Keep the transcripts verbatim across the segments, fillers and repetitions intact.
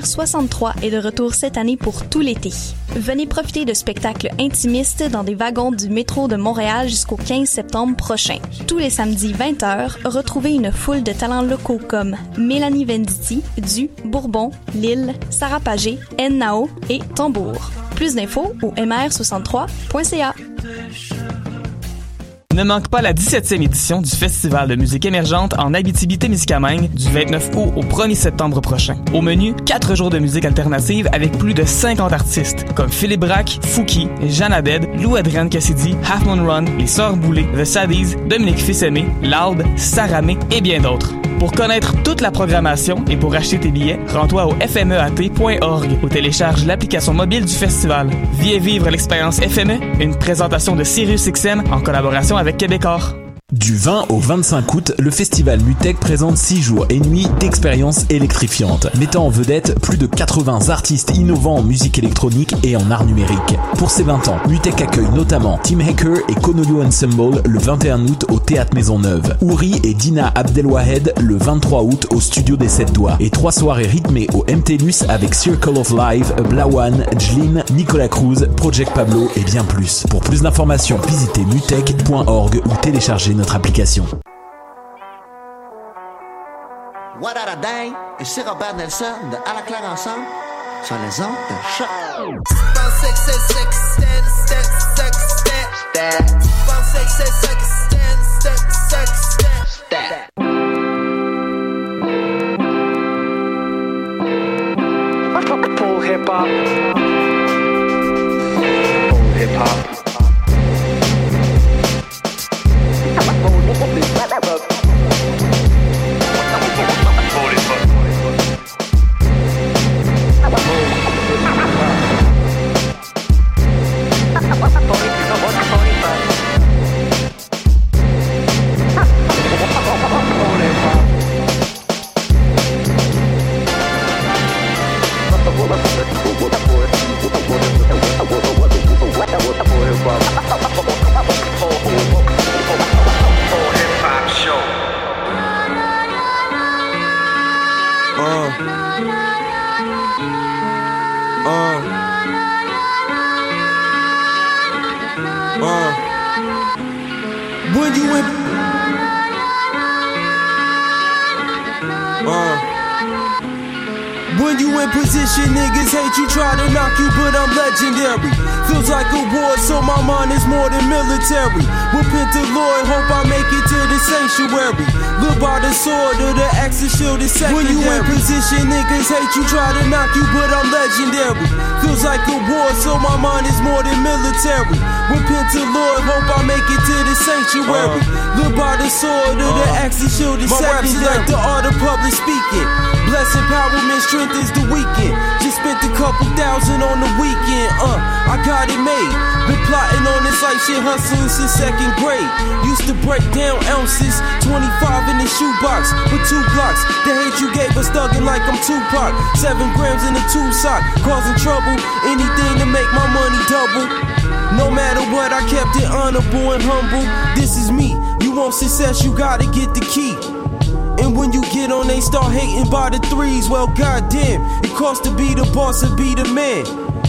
soixante-trois est de retour cette année pour tout l'été. Venez profiter de spectacles intimistes dans des wagons du métro de Montréal jusqu'au quinze septembre prochain. Tous les samedis vingt heures, retrouvez une foule de talents locaux comme Mélanie Venditti, Du, Bourbon, Lille, Sarah Pagé, N-Nao et Tambour. Plus d'infos au m r soixante-trois point c a. Ne manque pas la dix-septième édition du Festival de musique émergente en Abitibi-Témiscamingue du vingt-neuf août au premier septembre prochain. Au menu, quatre jours de musique alternative avec plus de cinquante artistes comme Philippe Braque, Fouki, Jeanne Abed, Lou-Adrienne Cassidy, Half Moon Run, Les Sœurs Boulay, The Saddies, Dominique Fils-Aimé, Loud, Saramé et bien d'autres. Pour connaître toute la programmation et pour acheter tes billets, rends-toi au f m e a t point org ou télécharge l'application mobile du festival. Viens vivre l'expérience F M E, une présentation de Sirius X M en collaboration avec Québecor. Du vingt au vingt-cinq août, le festival Mutech présente six jours et nuits d'expériences électrifiantes, mettant en vedette plus de quatre-vingts artistes innovants en musique électronique et en art numérique. Pour ses vingt ans, Mutech accueille notamment Tim Hacker et Konoyo Ensemble le vingt et un août au Théâtre Maisonneuve, Ouri et Dina Abdelwahed le vingt-trois août au Studio des Sept Doigts et trois soirées rythmées au M T L U S avec Circle of Life, Blawan, Jlin, Nicolas Cruz, Project Pablo et bien plus. Pour plus d'informations, visitez mutech point org ou téléchargez notre application. What a dang, ici Robert Nelson de À la claire ensemble sur les ondes de choc. Full hip hop. Full hip hop. Position, niggas hate you, try to knock you, but I'm legendary. Feels like a war, so my mind is more than military. Repent to Lord, hope I make it to the sanctuary. Live by the sword of the axe and shield is secondary. When you in position, niggas hate you, try to knock you, but I'm legendary. Feels like a war, so my mind is more than military. Repent to Lord, hope I make it to the sanctuary. Uh, Live by the sword of uh, the axe and shield is secondary. My raps is like the art of public speaking. Blessed empowerment, strength is the weekend. Just spent a couple thousand on the weekend. Uh, I got it made. Been plotting on this like shit, hustling since second grade. Used to break down ounces, twenty-five in the shoebox with two blocks. The hate you gave us thugging like I'm Tupac. Seven grams in a two sock, causing trouble. Anything to make my money double. No matter what, I kept it honorable and humble. This is me. You want success, you gotta get the key. And when you get on, they start hating by the threes. Well, goddamn, it costs to be the boss and be the man.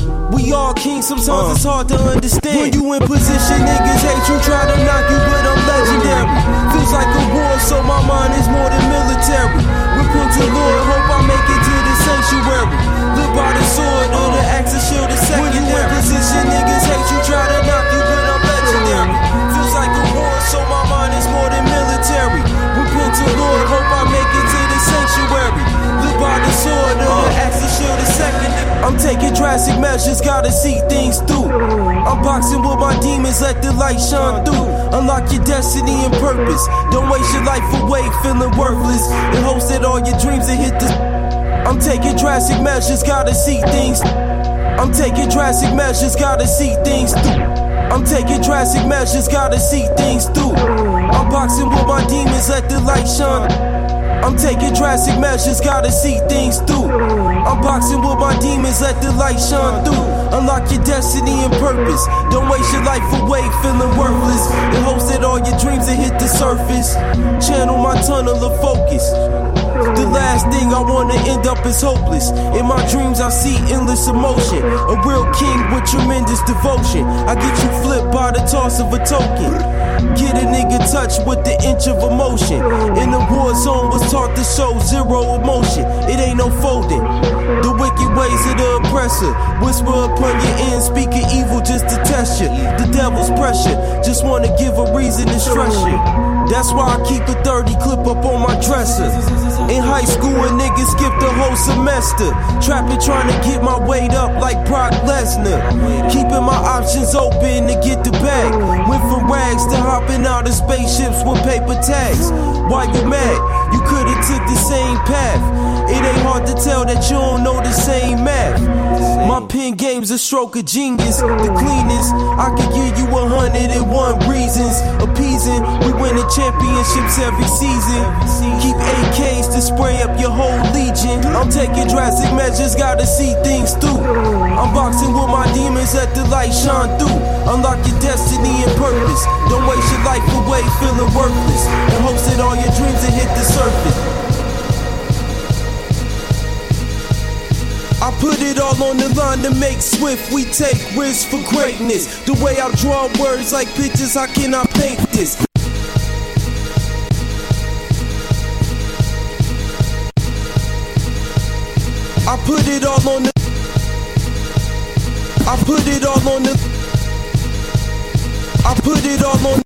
We all kings, sometimes uh. it's hard to understand. When you in position, niggas hate you, try to knock you, but I'm legendary. Feels like a war, so my mind is more than military. Repent to Lord, hope I make it to the sanctuary. Live by the sword or the axe and shield is secondary. When you in position, niggas hate you, try to knock you, but I'm legendary. Feels like a war, so my mind is more than military. Repent to Lord, hope I make it to the sanctuary. Live by the sword or the axe and shield is secondary. I'm taking drastic measures, gotta see things through. I'm boxing with my demons, let the light shine through. Unlock your destiny and purpose. Don't waste your life away feeling worthless. And hopes that all your dreams will hit the. I'm taking drastic measures, gotta see things. I'm taking drastic measures, gotta see things through. I'm taking drastic measures, gotta see things through. I'm boxing with my demons, let the light shine. I'm taking drastic measures, gotta see things through. I'm boxing with my demons, let the light shine through. Unlock your destiny and purpose. Don't waste your life away feeling worthless. In hopes that all your dreams will hit the surface. Channel my tunnel of focus. The last thing I wanna end up is hopeless. In my dreams I see endless emotion. A real king with tremendous devotion. I get you flipped by the toss of a token. Get a nigga touched with the inch of emotion. In the war zone was taught to show zero emotion. It ain't no folding. The wicked ways of the oppressor. Whisper upon your ear, speaking evil just to test you. The devil's pressure, just wanna give a reason to stress you. That's why I keep a thirty clip up on my dresser. In high school, a nigga skipped the whole semester. Trapping, trying to get my weight up like Brock Lesnar. Keeping my options open to get the bag. Went from rags to hopping out of spaceships with paper tags. Why you mad? You could've took the same path. It ain't hard to tell that you don't know the same math. My pen game's a stroke of genius. The cleanest, I could give you a hundred and one reasons. Appeasing, we winning championships every season. Keep A Ks to spray up your whole legion. I'm taking drastic measures, gotta see things through. I'm boxing with my demons, let the light shine through. Unlock your destiny and purpose. Don't waste your life away feeling worthless. In hopes that all your dreams will hit the surface. I put it all on the line to make swift. We take risks for greatness. The way I draw words like pictures, how can I paint this? I put it all on the I put it all on the I put it all on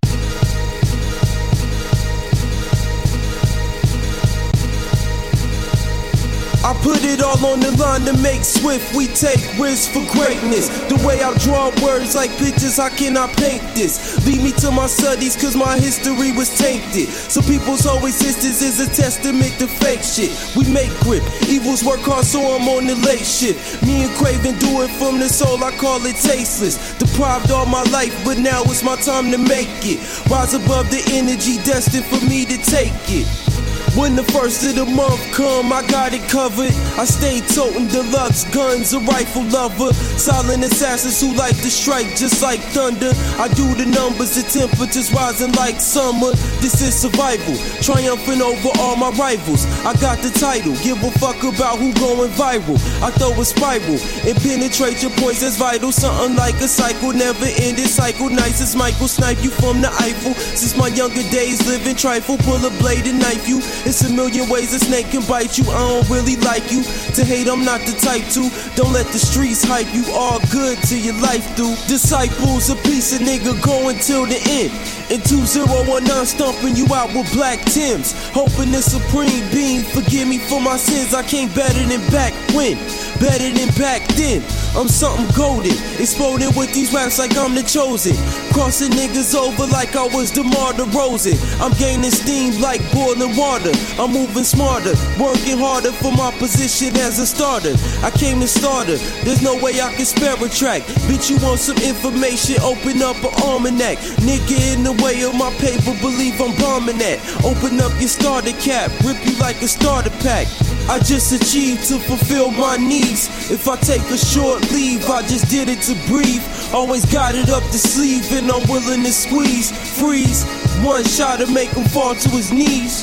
I put it all on the line to make swift. We take risks for greatness. The way I draw words like pictures, how can I paint this? Lead me to my studies, cause my history was tainted. So people's always sisters is a testament to fake shit. We make grip, evils work hard, so I'm on the late shit. Me and Craven do it from the soul, I call it tasteless. Deprived all my life, but now it's my time to make it. Rise above the energy destined for me to take it. When the first of the month come, I got it covered. I stay toting deluxe guns, a rifle lover. Silent assassins who like to strike just like thunder. I do the numbers, the temperatures rising like summer. This is survival, triumphing over all my rivals. I got the title, give a fuck about who going viral. I throw a spiral and penetrate your points, that's vital. Something like a cycle, never ending cycle. Nice as Michael, snipe you from the Eiffel. Since my younger days, living trifle, pull a blade and knife you. It's a million ways a snake can bite you. I don't really like you. To hate, I'm not the type to. Don't let the streets hype you. All good till your life through. Disciples, a piece of nigga going till the end. In two zero one nine, stomping you out with black Tims. Hoping the supreme being forgive me for my sins. I came better than back when, better than back then. I'm something golden, exploding with these raps like I'm the chosen. Crossing niggas over like I was DeMar DeRozan. I'm gaining steam like boiling water. I'm moving smarter, working harder for my position as a starter. I came to starter, there's no way I can spare a track. Bitch, you want some information, open up an almanac. Nigga in the way of my paper, believe I'm bombing that. Open up your starter cap, rip you like a starter pack. I just achieved to fulfill my needs. If I take a short leave, I just did it to breathe. Always got it up the sleeve and I'm willing to squeeze, freeze. One shot to make him fall to his knees.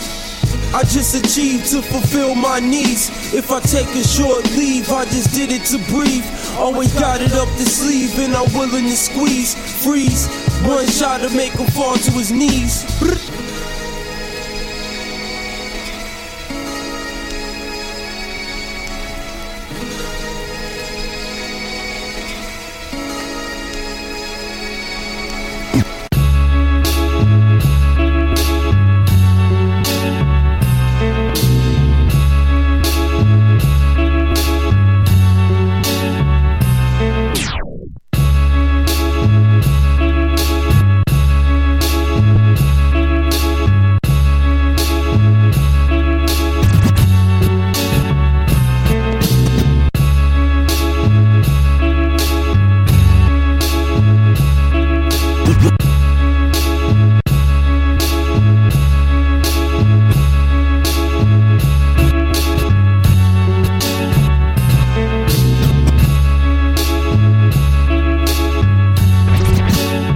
I just achieved to fulfill my needs. If I take a short leave, I just did it to breathe. Always got it up the sleeve and I'm willing to squeeze, freeze. One shot to make him fall to his knees.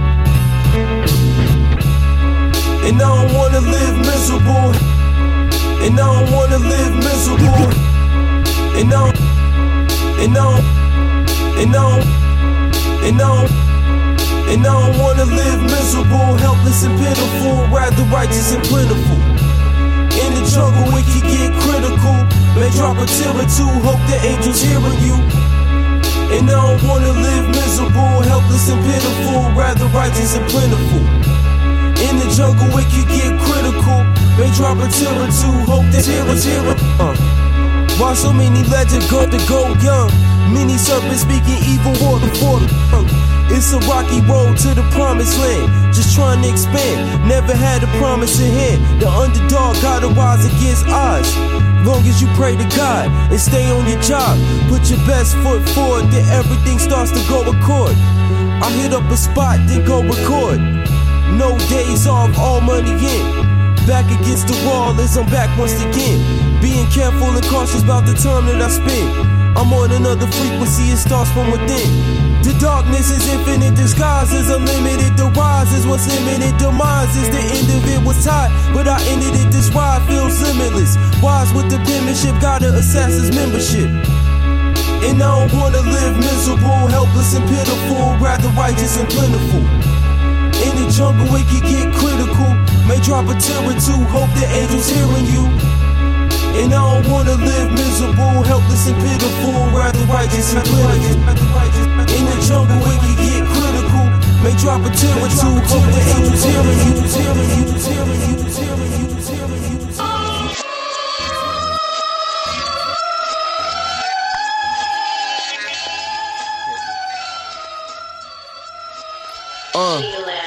And I don't wanna live miserable. And I don't wanna live miserable. And I don't, and I don't, and I don't, and I don't, and I don't wanna live miserable, helpless and pitiful, rather righteous and plentiful. In the jungle it can get critical, may drop a tear or two, hope the angels hearing you. And I don't wanna live miserable, helpless and pitiful, rather righteous and plentiful. In the jungle it can get critical, may drop a tear or two, hope the angels hearing you. Uh. Why so many legends go to go young? Many serpents speaking evil water for the tongue. It's a rocky road to the promised land, just trying to expand, never had a promise in hand. The underdog gotta rise against odds. Long as you pray to God and stay on your job, put your best foot forward, then everything starts to go accord. I hit up a spot, then go record. No days off, all money in. Back against the wall as I'm back once again. Being careful and cautious about the time that I spend. I'm on another frequency, it starts from within. The darkness is infinite, disguise is unlimited. The rise is what's limited, demise is the end of it. Was tied, but I ended it, this ride feels limitless. Wise with the penmanship, gotta assess his membership. And I don't wanna live miserable, helpless and pitiful, rather righteous and plentiful. In the jungle it can get critical, may drop a tear or two, hope the angels hearing you. And I don't wanna live miserable, helpless and pitiful, rather righteous and plentiful. In the jungle it can get critical, may drop a tear or two, hope the angels hearing you. Hearing you, hearing you, hearing you, hearing you. Uh.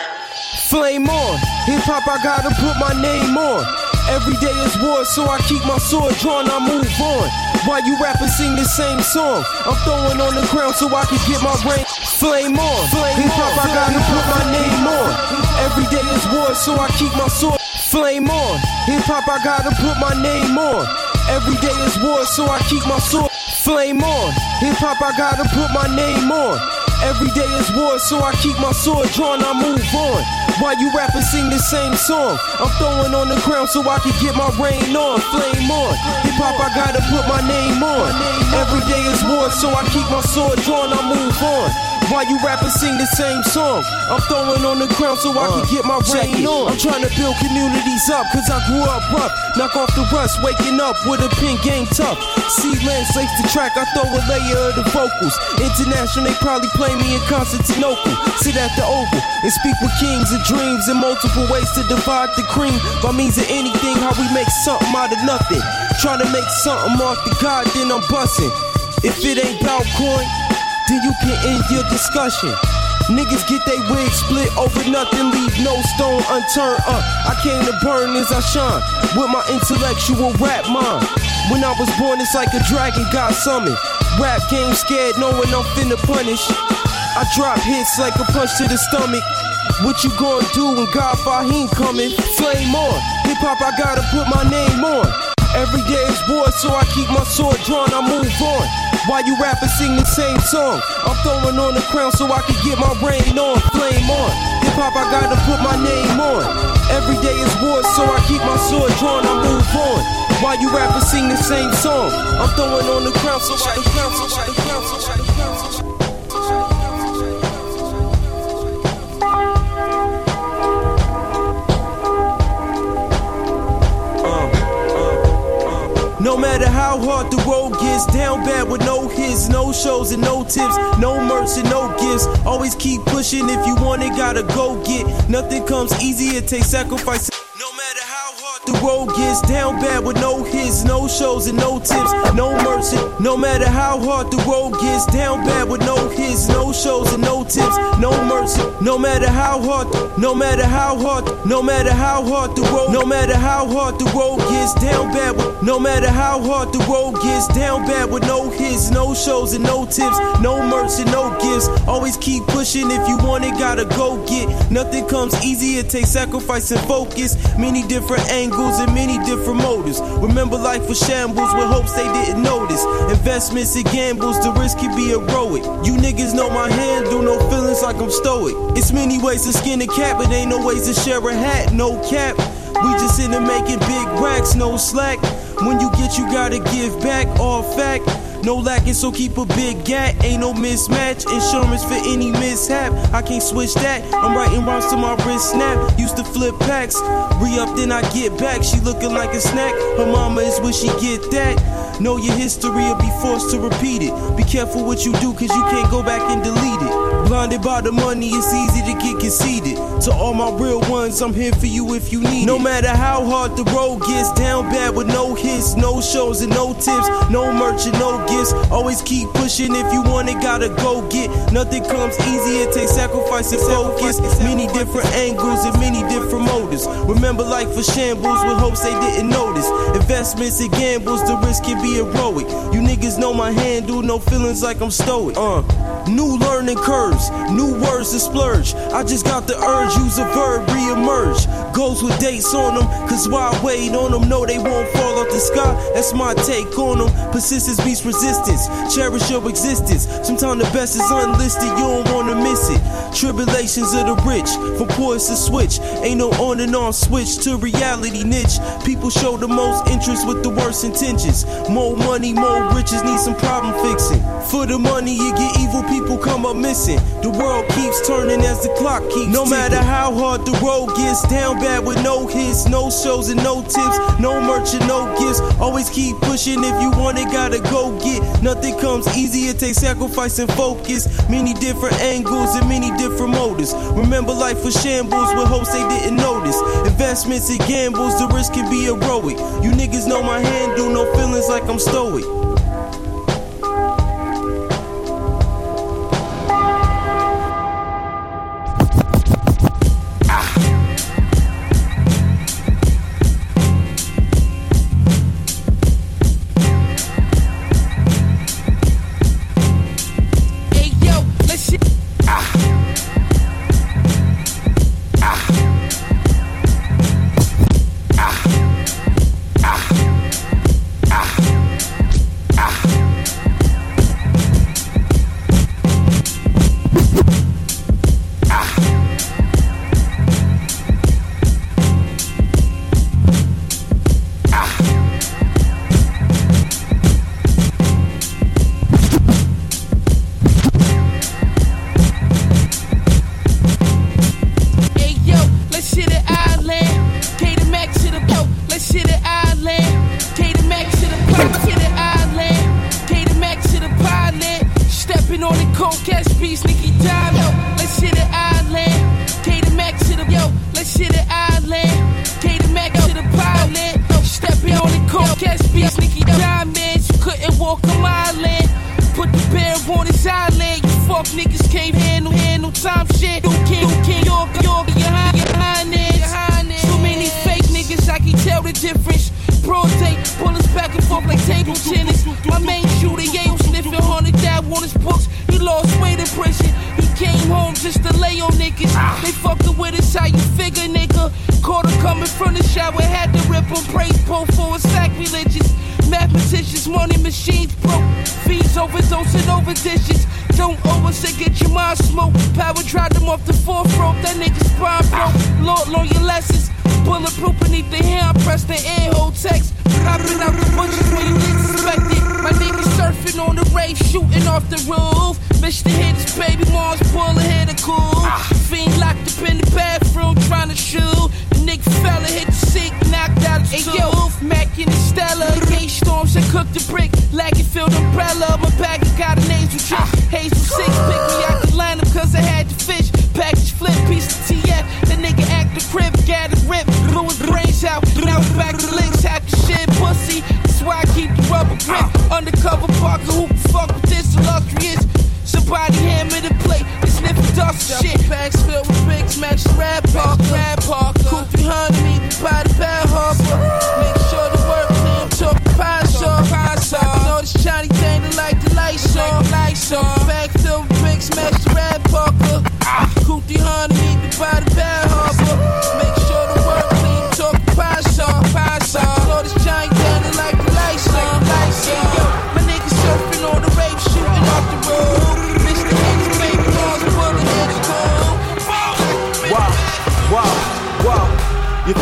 Flame on, hip hop I gotta put my name on. Every day is war, so I keep my sword drawn, I move on. While you rappers sing the same song, I'm throwing on the ground so I can get my brain. Flame on, hip hop I gotta put my name on. Every day is war, so I keep my sword. Flame on, hip hop I gotta put my name on. Every day is war, so I keep my sword. Flame on, hip hop I gotta put my name on. Every day is war, so I keep my sword drawn, I move on. While you rappers sing the same song, I'm throwing on the ground so I can get my rain on. Flame on, hip hop I gotta put my name on. Every day is war, so I keep my sword drawn, I move on. While you rappers sing the same song, I'm throwing on the ground so I can get my rain on. I'm trying to build communities up, cause I grew up rough. Knock off the rust, waking up with a pin game tough. Sealand slates the track, I throw a layer of the vocals. International, they probably play me in Constantinople. Sit at the Oval and speak with kings and dreams, and multiple ways to divide the cream. By means of anything, how we make something out of nothing. Trying to make something off the God, then I'm busting. If it ain't about coin, then you can end your discussion. Niggas get they wig split over nothing, leave no stone unturned. Uh, I came to burn as I shine with my intellectual rap mind. When I was born, it's like a dragon got summoned. Rap game scared, knowing I'm finna punish. I drop hits like a punch to the stomach. What you gonna do when God Fahim coming? Flame on, hip hop I gotta put my name on. Every day is war, so I keep my sword drawn, I move on. While you rappers sing the same song, I'm throwing on the crown so I can get my rain on. Flame on, hip hop I gotta put my name on. Every day is war, so I keep my sword drawn, I move on. While you rappers sing the same song, I'm throwing on the crown so I can crown so I can crown so I can crown so I can. No matter how hard the road gets, down bad with no hits, no shows and no tips, no merch and no gifts. Always keep pushing, if you want it, gotta go get. Nothing comes easy, it takes sacrifice. No matter how hard the road gets, down bad with no hits, no shows and no tips, no merch. No matter how hard the road gets, down bad with no hits, no shows and no tips, no merch. No matter how hard, no matter how hard, no matter how hard the road, no matter how hard the road gets, down bad with. No matter how hard the road gets, down bad with no hits, no shows and no tips, no merch and no gifts. Always keep pushing, if you want it, gotta go get. Nothing comes easy, it takes sacrifice and focus. Many different angles and many different motives. Remember life was shambles with hopes they didn't notice. Investments and gambles, the risk can be heroic. You niggas know my handle, no feelings like I'm stoic. It's many ways to skin a cat, but ain't no ways to share a hat, no cap. We just in there making big racks, no slack. When you get, you gotta give back, all fact. No lacking, so keep a big gat. Ain't no mismatch, insurance for any mishap. I can't switch that, I'm writing rhymes to my wrist snap. Used to flip packs, re-up then I get back. She looking like a snack, her mama is where she get that. Know your history or be forced to repeat it. Be careful what you do, cause you can't go back and delete it. Blinded by the money, it's easy to get conceited. To all my real ones, I'm here for you if you need it. No matter how hard the road gets, down bad with no hits, no shows and no tips, no merch and no gifts. Always keep pushing, if you want it, gotta go get. Nothing comes easy, it takes sacrifice and focus. Many different angles and many different motives. Remember life for shambles with hopes they didn't notice. Investments and gambles, the risk can be heroic. You niggas know my handle, no feelings like I'm stoic. Uh, new learning curves, new words to splurge. I just got the urge, use a verb, re-emerge. Goes with dates on them, cause why wait on them? No, they won't fall off the sky, that's my take on them. Persistence beats resistance, cherish your existence. Sometimes the best is unlisted, you don't wanna miss it. Tribulations of the rich, from poise to switch. Ain't no on and on switch to reality niche. People show the most interest with the worst intentions. More money, more riches, need some problem fixing. For the money you get, evil people come up missing. The world keeps turning as the clock keeps No ticking. Matter how hard the road gets, down bad with no hits, no shows and no tips, no merch and no gifts. Always keep pushing, if you want it, gotta go get. Nothing comes easy, it takes sacrifice and focus. Many different angles and many different motives. Remember life for shambles with hopes they didn't notice. Investments and gambles, the risk can be heroic. You niggas know my handle, no feelings like I'm stoic. Surfing on the rave, shooting off the road. Mister Hands, baby, Mars, pulling edge,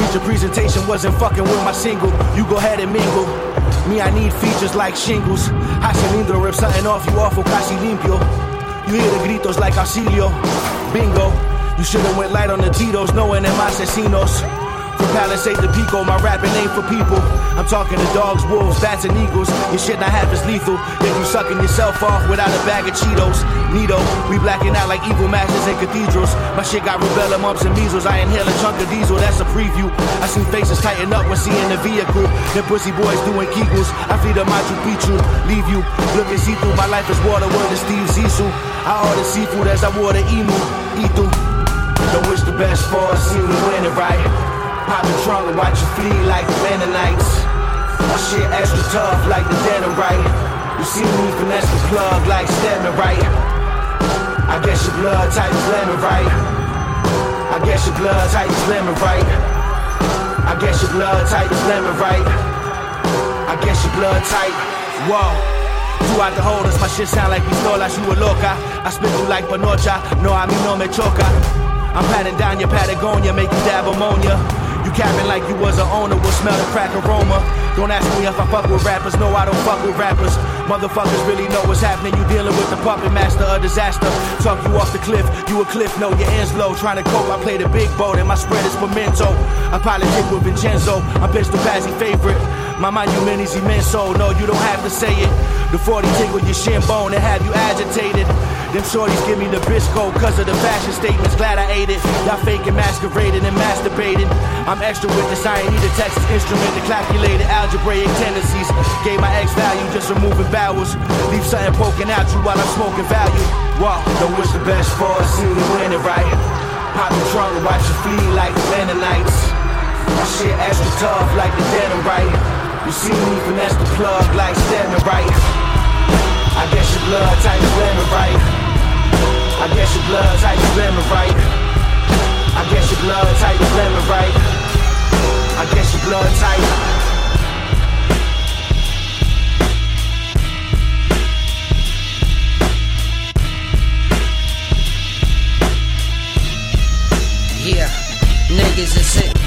Feature presentation wasn't fucking with my single. You go ahead and mingle. Me, I need features like shingles. Haciendo rip something off you awful casi limpio. You hear the gritos like auxilio. Bingo. You should've went light on the Tito's, knowing them asesinos. From Palisade to Pico, my rapping ain't for people. I'm talking to dogs, wolves, bats, and eagles. Your shit not half as lethal. Then you sucking yourself off without a bag of Cheetos. Neato, we blacking out like evil masters in cathedrals. My shit got rubella, mumps, and measles. I inhale a chunk of diesel, that's a preview. I seen faces tighten up when seeing the vehicle. Them pussy boys doing kegels. I feed them Machu Picchu, leave you. Look and see through, my life is water, word to Steve Zissou. I order seafood as I water emu, eat through. Don't wish the best for us, see me win it right. Pop the trunk and watch you flee like the Mennonites. My shit extra tough like the denim right. You see me finesse the plug like Stedman right. I guess your blood type is lemon right. I guess your blood type is lemon right. I guess your blood type is lemon right. I guess your blood type. Whoa. Throughout the holders, my shit sound like pistolas, you a loca. I spit you like panocha, no a mí no me choca. I'm patting down your Patagonia, make you dab ammonia. You capping like you was an owner, will smell the crack aroma. Don't ask me if I fuck with rappers, no I don't fuck with rappers. Motherfuckers really know what's happening, you dealing with the puppet master of disaster. Talk you off the cliff, you a cliff, no your ends low. Trying to cope, I play the big boat and my spread is pimento. I politic with Vincenzo, I'm Pistol Pazzi favorite. My monument is immenso, no you don't have to say it. The forty tickle your shin bone and have you agitated. Them shorties give me the bisco cause of the fashion statements, glad I ate it. Y'all faking, masquerading and masturbating. I'm extra with this, I ain't need a Texas instrument to calculate it. Algebraic tendencies, gave my X value, just removing vowels. Leave something poking out you while I'm smoking value. Wow, don't wish the best for us, see me win it right. Pop the trunk and watch you flee like the Mennonites. My shit extra tough like the denim right. You see me finesse the plug like Stedman right. I guess your blood type is lemon right. I guess your blood type is lemon right. I guess your blood type is lemon right. I guess your blood type. Yeah, niggas is it.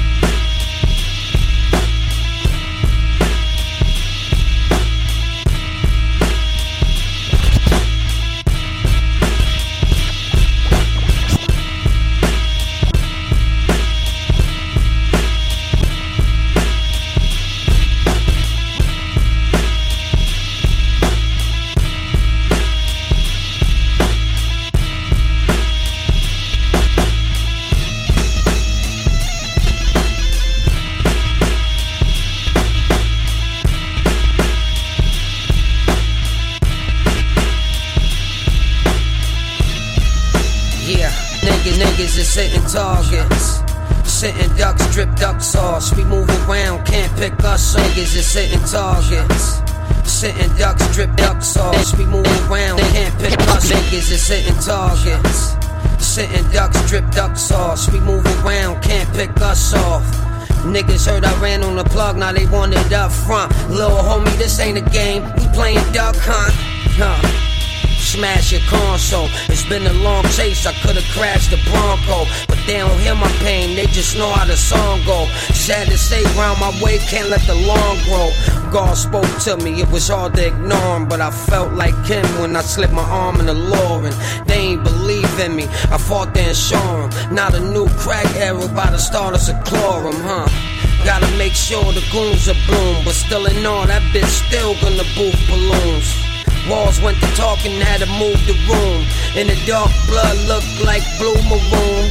Niggas is sitting targets, sitting ducks, drip duck sauce. We move around, can't pick us. Niggas is sitting targets, sitting ducks, drip duck sauce. We move around, can't pick us. Niggas is sitting targets, sitting ducks, drip duck sauce. We move around, can't pick us off. Niggas heard I ran on the plug, now they want it up front. Little homie, this ain't a game, we playing duck hunt. Huh. Smash your console. It's been a long chase, I could've crashed the Bronco. But they don't hear my pain, they just know how the song go. Sad to say, round my way, can't let the lawn grow. God spoke to me, it was hard to ignore him. But I felt like him when I slipped my arm in the law. And they ain't believe in me, I fought there and show them. Not a new crack era by the starters of chlorum, huh? Gotta make sure the goons are bloom. But still in all, that bitch still gonna boof balloons. Walls went to talking, had to move the room. In the dark, blood looked like blue maroon.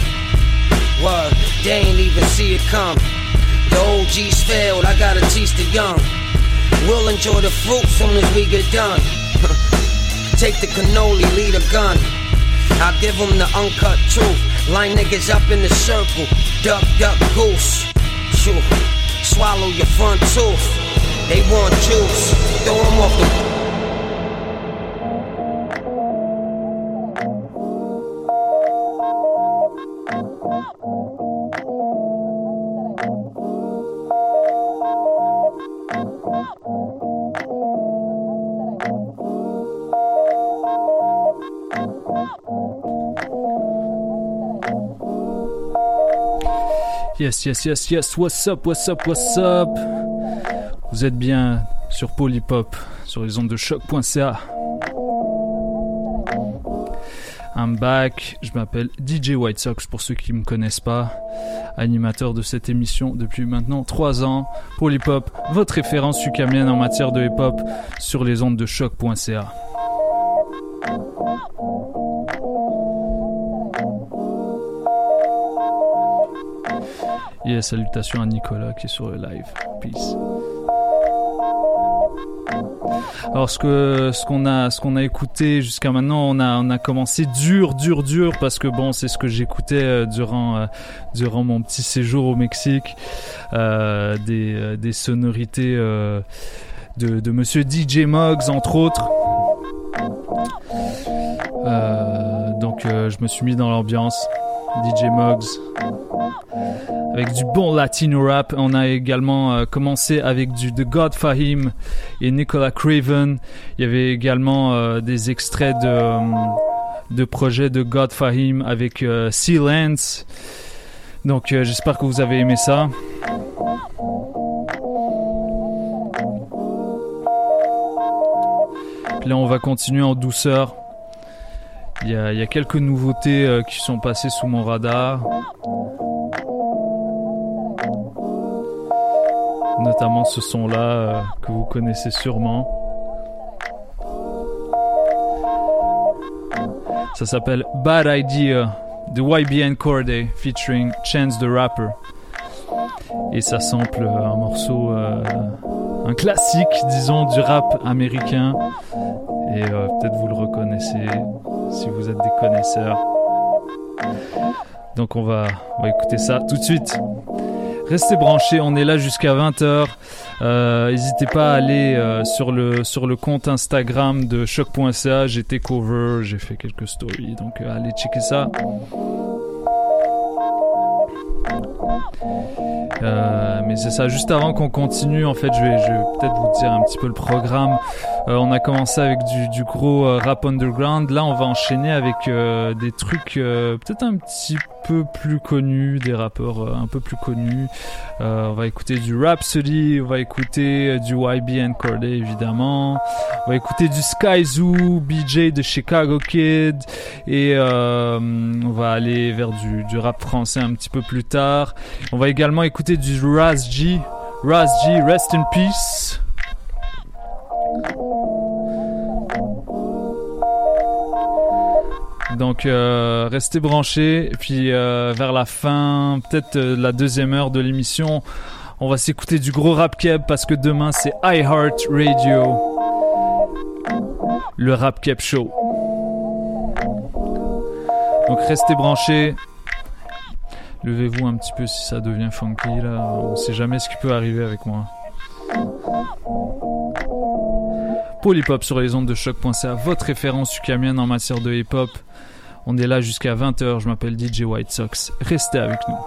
Word, they ain't even see it come. The O Gs failed, I gotta teach the young. We'll enjoy the fruit soon as we get done. Take the cannoli, lead a gun. I'll give them the uncut truth. Line niggas up in the circle. Duck, duck, goose. Shoo. Swallow your front tooth. They want juice. Throw them off the... Yes, yes, yes, yes, what's up, what's up, what's up? Vous êtes bien sur Polypop, sur les ondes de choc point c a. I'm back, je m'appelle D J White Sox pour ceux qui ne me connaissent pas, animateur de cette émission depuis maintenant trois ans. Polypop, votre référence sucamienne en matière de hip-hop sur les ondes de choc point c a. Yeah, salutations à Nicolas qui est sur le live. Peace. Alors ce que ce qu'on a ce qu'on a écouté jusqu'à maintenant, on a on a commencé dur dur dur parce que bon, c'est ce que j'écoutais euh, durant euh, durant mon petit séjour au Mexique, euh, des euh, des sonorités euh, de de monsieur D J Muggs entre autres. Euh, donc euh, je me suis mis dans l'ambiance. D J Muggs avec du bon latino rap. On a également euh, commencé avec du The God Fahim et Nicolas Craven. Il y avait également euh, des extraits de euh, de projets de God Fahim avec euh, Silence. Donc euh, j'espère que vous avez aimé ça. Puis là on va continuer en douceur. Il y a, il y a quelques nouveautés euh, qui sont passées sous mon radar. Notamment ce son-là euh, que vous connaissez sûrement. Ça s'appelle Bad Idea de Y B N Cordae featuring Chance the Rapper. Et ça sample un morceau, euh, un classique, disons, du rap américain. Et euh, peut-être vous le reconnaissez si vous êtes des connaisseurs. Donc on va, on va écouter ça tout de suite. Restez branchés, on est là jusqu'à vingt heures. Euh, n'hésitez pas à aller euh, sur, le, sur le compte Instagram de choc point c a. J'ai été cover, j'ai fait quelques stories, donc euh, allez checker ça. Euh, mais c'est ça, juste avant qu'on continue, en fait, je vais, je vais peut-être vous dire un petit peu le programme. Euh, on a commencé avec du, du gros euh, rap underground. Là, on va enchaîner avec euh, des trucs euh, peut-être un petit peu plus connus, des rappeurs euh, un peu plus connus. Euh, on va écouter du Rhapsody, on va écouter euh, du Y B N Cordae, évidemment. On va écouter du Sky Zoo, B J de Chicago Kid. Et euh, on va aller vers du, du rap français un petit peu plus tard. On va également écouter du Raz G. Raz G, rest in peace. Donc euh, restez branchés. Et puis euh, vers la fin, peut-être euh, la deuxième heure de l'émission, on va s'écouter du gros rap keb parce que demain c'est iHeart Radio, le Rap Keb Show. Donc restez branchés. Levez-vous un petit peu si ça devient funky là. On sait jamais ce qui peut arriver avec moi. Polypop sur les ondes de choc point c a, votre référence sucamienne en matière de hip-hop. On est là jusqu'à vingt heures. Je m'appelle D J White Sox. Restez avec nous.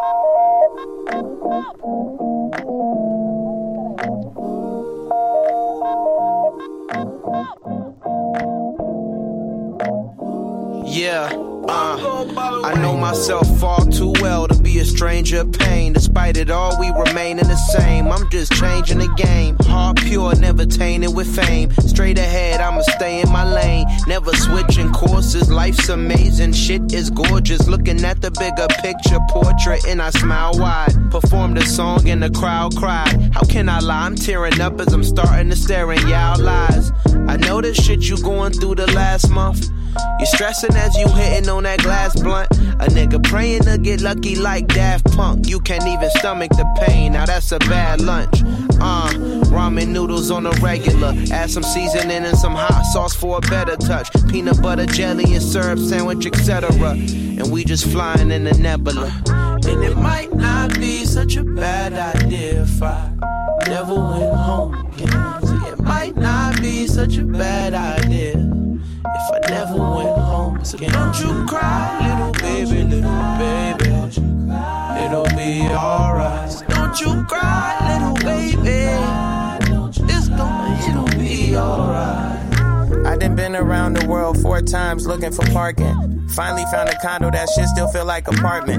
Yeah, uh, I know myself far too well to be a stranger of pain. Despite it all, we remainin' the same. I'm just changing the game. Heart pure, never tainted with fame. Straight ahead, I'ma stay in my lane. Never switching courses, life's amazing. Shit is gorgeous. Looking at the bigger picture portrait and I smile wide. Performed a song and the crowd cried. How can I lie? I'm tearing up as I'm starting to stare in y'all eyes. I know the shit you going through the last month. You stressing as you hitting on that glass blunt. A nigga praying to get lucky like Daft Punk. You can't even stomach the pain, now that's a bad lunch. Uh, ramen noodles on a regular. Add some seasoning and some hot sauce for a better touch. Peanut butter, jelly and syrup sandwich, et cetera. And we just flying in the nebula. And it might not be such a bad idea if I never went home again. See, it might not be such a bad idea if I never went home. So don't you cry, little baby, little baby. It'll be alright. So don't you cry, little baby. It's gonna, it'll be alright. I done been around the world four times looking for parking. Finally found a condo that shit still feel like apartment.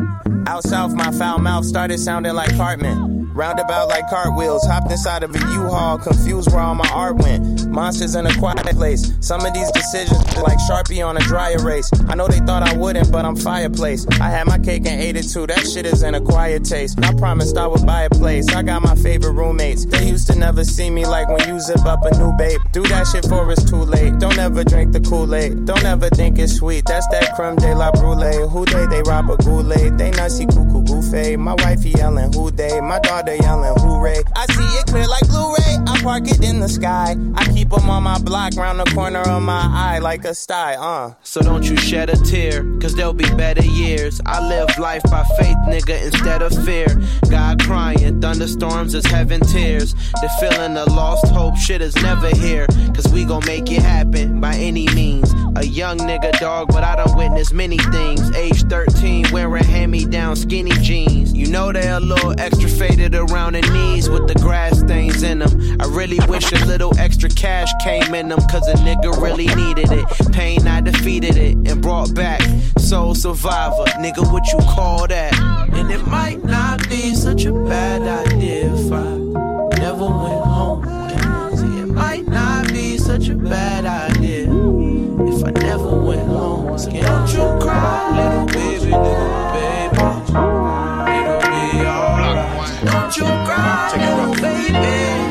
Out south, my foul mouth started sounding like Cartman. Roundabout like cartwheels, hopped inside of a U-Haul, confused where all my art went. Monsters in a quiet place. Some of these decisions are like Sharpie on a dry erase. I know they thought I wouldn't, but I'm fireplace. I had my cake and ate it too, that shit is an acquired taste. I promised I would buy a place, I got my favorite roommates. They used to never see me like when you zip up a new babe. Do that shit for it's too late, don't ever drink the Kool-Aid. Don't ever think it's sweet, that's that creme de la brulee. Who they, they rob a goulet. They nutsy cuckoo goofy. My wifey yelling who they, my daughter yelling hooray. I see it clear like Blu-ray, I park it in the sky. I keep them on my block, round the corner of my eye like a sty, uh. So don't you shed a tear, cause there'll be better years. I live life by faith, nigga, instead of fear. God crying, thunderstorms is heaven tears. The feeling of lost hope, shit is never here. Cause we gon' make it happen by any means. A young nigga dog, but I done witnessed many things. Age thirteen, wearing hand-me-down skinny jeans. You know they're a little extra faded around the knees with the grass stains in them. I really wish a little extra cash came in them, cause a nigga really needed it. Pain, I defeated it and brought back. Soul survivor, nigga, what you call that? And it might not be such a bad idea if I never went home. See, it might not be such a bad idea if I never went home. So don't you cry, little baby, little baby. It'll be alright. Don't you cry, little baby.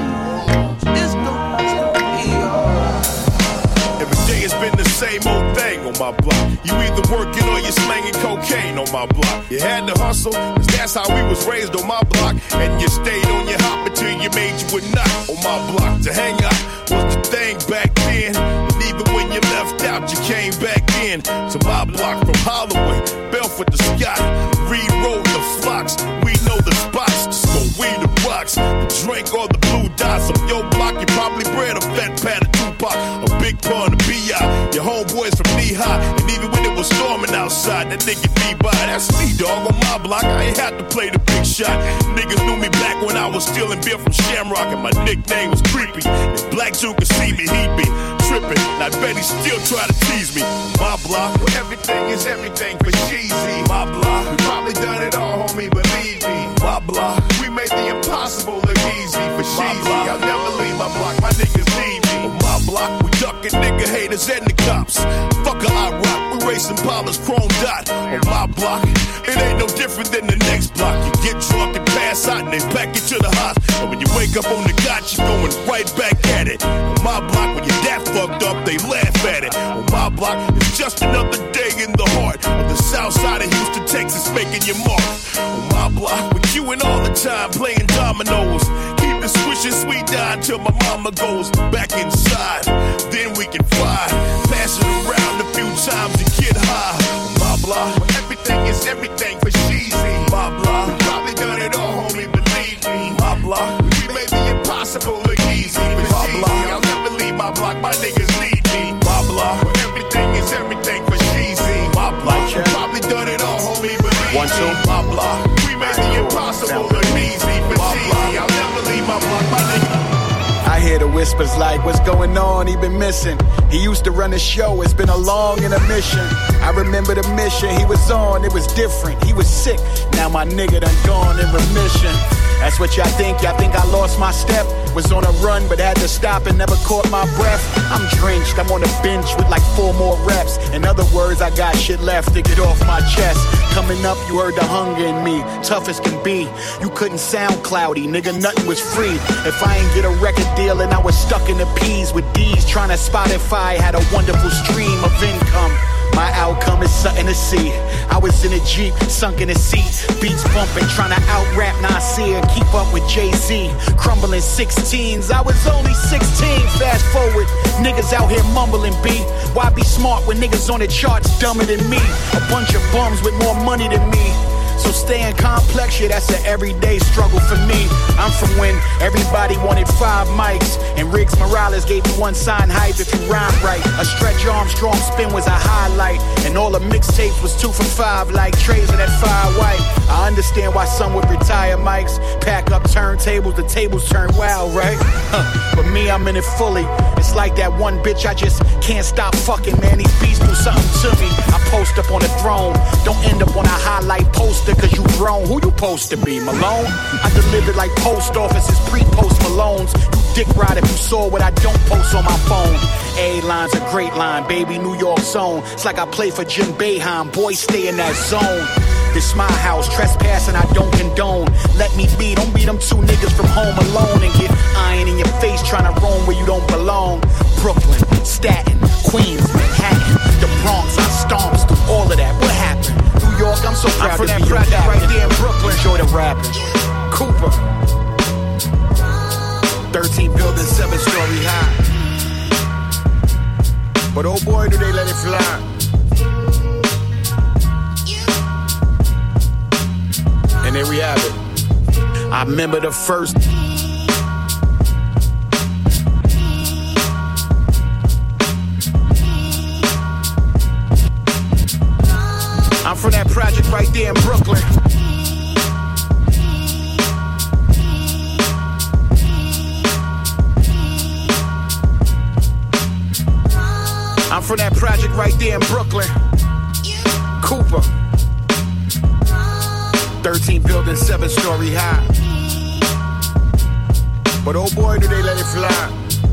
It's gonna be alright. Every day has been the same old thing on my block. You either working or you're slanging cocaine on my block. You had to hustle, cause that's how we was raised on my block. And you stayed on your hop until you made you a knot on my block. To hang out was the thing back then. And even when you left out, you came back in. To my block from Holloway, Belfort to Scott, Reed Road to Flocks. We know the spots, just go weed the rocks. The drink or the blue dots on your block. You probably bred a fat pad of Tupac, a big pun of B I. Your homeboys from knee high, and even when it was storming outside, that nigga be by. That's me, dog, on my block. I ain't had to play the big shot. Niggas knew me back when I was stealing beer from Shamrock, and my nickname was Creepy. If Black Joe could see me, he'd be tripping. And I bet he still try to tease me. My block, where everything is everything for cheesy. My block, we probably done it all, homie, believe me. My block, we made the impossible look easy for cheesy. I'll never leave my block, my niggas need me. On my block, we ducking nigga haters and the cops. Fuck a I rock, we racing Pollard's chrome dot. On my block, it ain't no different than the next block. You get drunk and pass out and they pack you to the hospital. And when you wake up on the got, you going right back at it. On my block, when you're that fucked up, they laugh at it. On my block, it's just another day in the heart of the south side of Houston, Texas, making your mark. On my block, with you and all the time playing dominoes. Keep the swishing sweet down till my mama goes back inside. Then we can fly, pass it around a few times and get high. On my block, where everything is everything for cheesy. My block, we probably done it all, homie, believe me. My block, we made the impossible look easy. My block, I'll never leave my block, my niggas need me. My block, where everything is everything for cheesy. My block, we probably done it all, homie, believe me. One, two, my block, we made the impossible look easy. For cheesy, I'll never leave my block, my niggas. I hear the whispers like, what's going on? He been missing. He used to run the show, it's been a long intermission. I remember the mission he was on, it was different. He was sick, now my nigga done gone in remission. That's what y'all think, y'all think I lost my step. Was on a run but had to stop and never caught my breath. I'm drenched, I'm on a bench with like four more reps. In other words, I got shit left to get off my chest. Coming up, you heard the hunger in me, tough as can be. You couldn't sound cloudy, nigga, nothing was free. If I ain't get a record deal and I was stuck in the P's with D's, trying to Spotify, had a wonderful stream of income. My outcome is something to see. I was in a Jeep, sunk in a seat, beats bumping, trying to out-rap Nasir and keep up with Jay-Z. Crumbling sixteens, I was only sixteen. Fast forward, niggas out here mumbling B. Why be smart when niggas on the charts dumber than me? A bunch of bums with more money than me. So staying complex, yeah, that's an everyday struggle for me. I'm from when everybody wanted five mics, and Riggs Morales gave you one sign hype if you rhyme right. A Stretch Armstrong spin was a highlight, and all the mixtapes was two for five like trays of that fire white. I understand why some would retire mics, pack up turntables, the tables turn wild, right? Huh. But me, I'm in it fully. It's like that one bitch I just can't stop fucking, man. These beats do something to me. I pull ghost up on the throne. Don't end up on a highlight poster cause you grown. Who you supposed to be, Malone? I delivered like post offices, pre-post Malones. You dick ride if you saw what I don't post on my phone. A-line's a great line, baby, New York zone. It's like I play for Jim Boeheim, boys stay in that zone. This my house, trespassing I don't condone. Let me be, don't be them two niggas from Home Alone and get iron in your face trying to roam where you don't belong. Brooklyn, Staten, Queens, Manhattan, the Bronx, I stomps through all of that. What happened? New York, I'm so proud I'm from to that be project your right there in Brooklyn. Enjoy the rapping. Cooper, thirteen buildings, seven story high. But oh boy, do they let it fly. And there we have it. I remember the first. I'm from that project right there in Brooklyn. I'm from that project right there in Brooklyn. Cooper. thirteen buildings, seven story high. But oh boy, do they let it fly.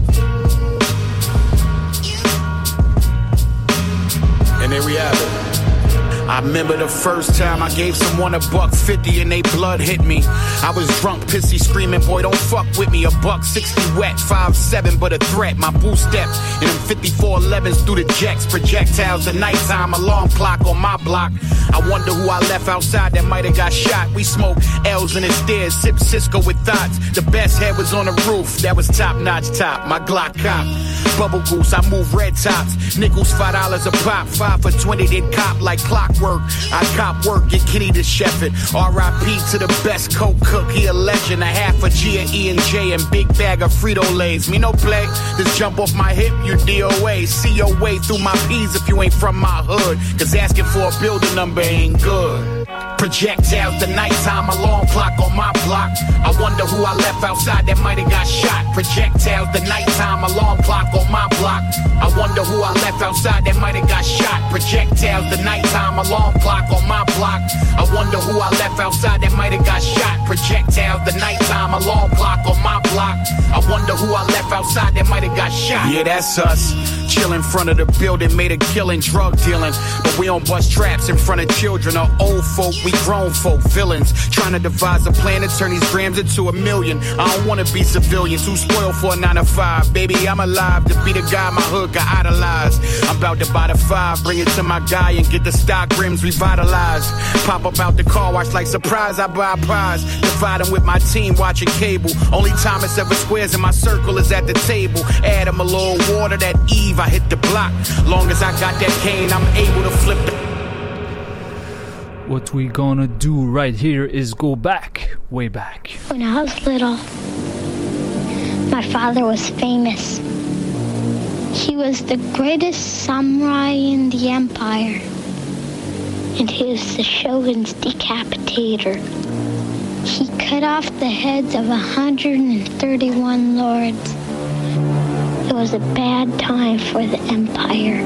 And there we have it. I remember the first time I gave someone a buck fifty and they blood hit me. I was drunk, pissy, screaming, boy, don't fuck with me. A buck sixty wet, five seven, but a threat. My boo step in them fifty-four elevens through the jacks. Projectiles, the nighttime alarm clock on my block. I wonder who I left outside that might have got shot. We smoke L's in the stairs, sip Cisco with thoughts. The best head was on the roof, that was top notch top. My Glock cop. Bubble goose, I move red tops. Nickels, five dollars a pop. Five for twenty, then cop like clockwork. I cop work, get Kenny to chef it. R I P to the best coke cook, he a legend. A half a G of E and J and big bag of Frito-Lays. Me no play, just jump off my hip, you D O A. See your way through my P's if you ain't from my hood. Cause asking for a building number ain't good. Projectiles, the nighttime alarm clock on my block. I wonder who I left outside that might have got shot. Projectiles, the nighttime alarm clock on my block. I wonder who I left outside that might have got shot. Projectiles, the nighttime alarm clock on my block. I wonder who I left outside that might have got shot. Projectiles, the nighttime alarm clock on my block. I wonder who I left outside that might have got shot. Yeah, that's us. Chill in front of the building, made a killing, drug dealing. But we don't bust traps in front of children or old folk. We grown folk, villains. Trying to devise a plan to turn these grams into a million. I don't wanna be civilians who spoiled for a nine to five. Baby, I'm alive to be the guy my hood got idolized. I'm about to buy the five, bring it to my guy and get the stock rims revitalized. Pop up out the car wash like surprise, I buy a prize. Dividing with my team, watching cable. Only time it's ever squares in my circle is at the table. Add them a little water, that Eve, I hit the block. Long as I got that cane, I'm able to flip the... What we gonna do right here is go back, way back. When I was little, my father was famous. He was the greatest samurai in the empire. And he was the shogun's decapitator. He cut off the heads of one hundred thirty-one lords. It was a bad time for the empire.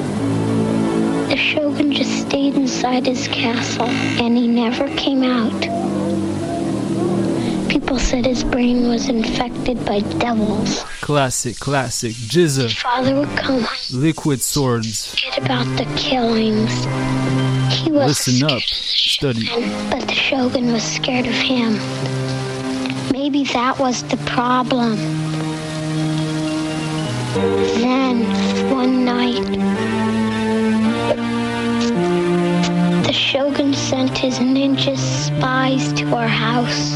The shogun just stayed inside his castle, and he never came out. People said his brain was infected by devils. Classic, classic. Jizza. Father would come. Liquid swords. Get about the killings. He was Listen up. Study. But the shogun was scared of him. Maybe that was the problem. Then, one night, the shogun sent his ninja spies to our house.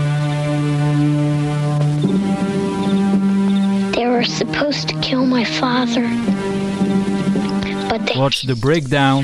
They were supposed to kill my father, but they... Watch the breakdown.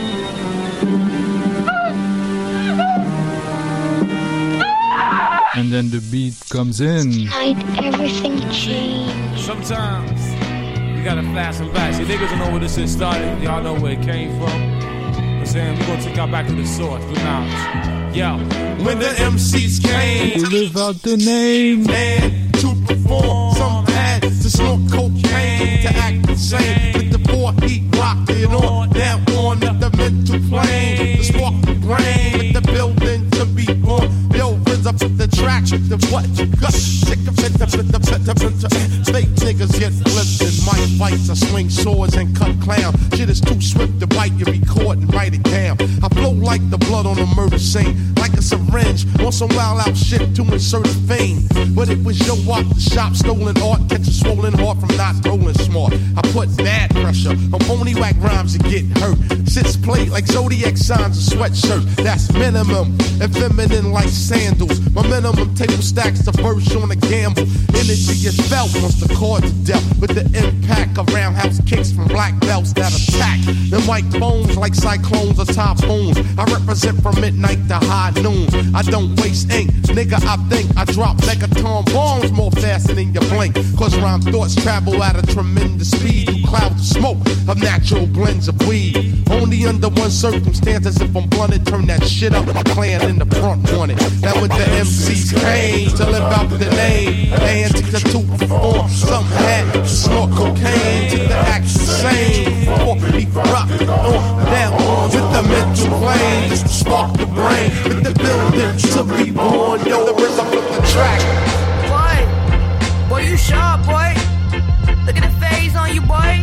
And then the beat comes in. Tonight, everything changed. Sometimes you gotta flash and back. See, niggas don't know where this shit started. Y'all know where it came from. I'm saying we're gonna take y'all back to the source, the knowledge. Yo, when the M Cs came to live out the name and to perform, some had to snort cocaine to act the same. With the four heat rocked it on, now on the with the mental plane, the spark the brain, with the building to be born. Build rhythm to the track, the what you got. Sick of it, the the the the fake niggas get flipped in mic fights. I swing swords and cut clown. Shit is too swift to bite, you record and write it down. I flow like the blood on a murder scene, like a syringe on some wild out shit to insert a fame. But it was your walk, the shop, stolen art, catch a swollen heart from not rolling smart. I put bad pressure on phony whack rhymes and get hurt. Sits played like zodiac signs and sweatshirt. That's minimum and feminine like sandals. My minimum table stacks the verse on a gamble. Energy is felt once the chords are dealt with the impact of roundhouse kicks from black belts that attack the mic bones like cyclones or typhoons. I represent from midnight to high noon. I don't waste ink, nigga. I think I drop megaton bombs more faster than you blink. Cause rhyme thoughts travel at a tremendous speed through clouds of smoke of natural blends of weed. Only under one circumstance, as if I'm blunted, turn that shit up. My clan in the front wanted. That with the M Cs came to live out the name. And to the two perform. Some had snort cocaine to the act the same. Or be rock on down with the mental plane. Just to spark the brain with the building to be born. Yo, the rhythm of the track. Boy, boy, you sharp, boy. Look at the phase on you, boy.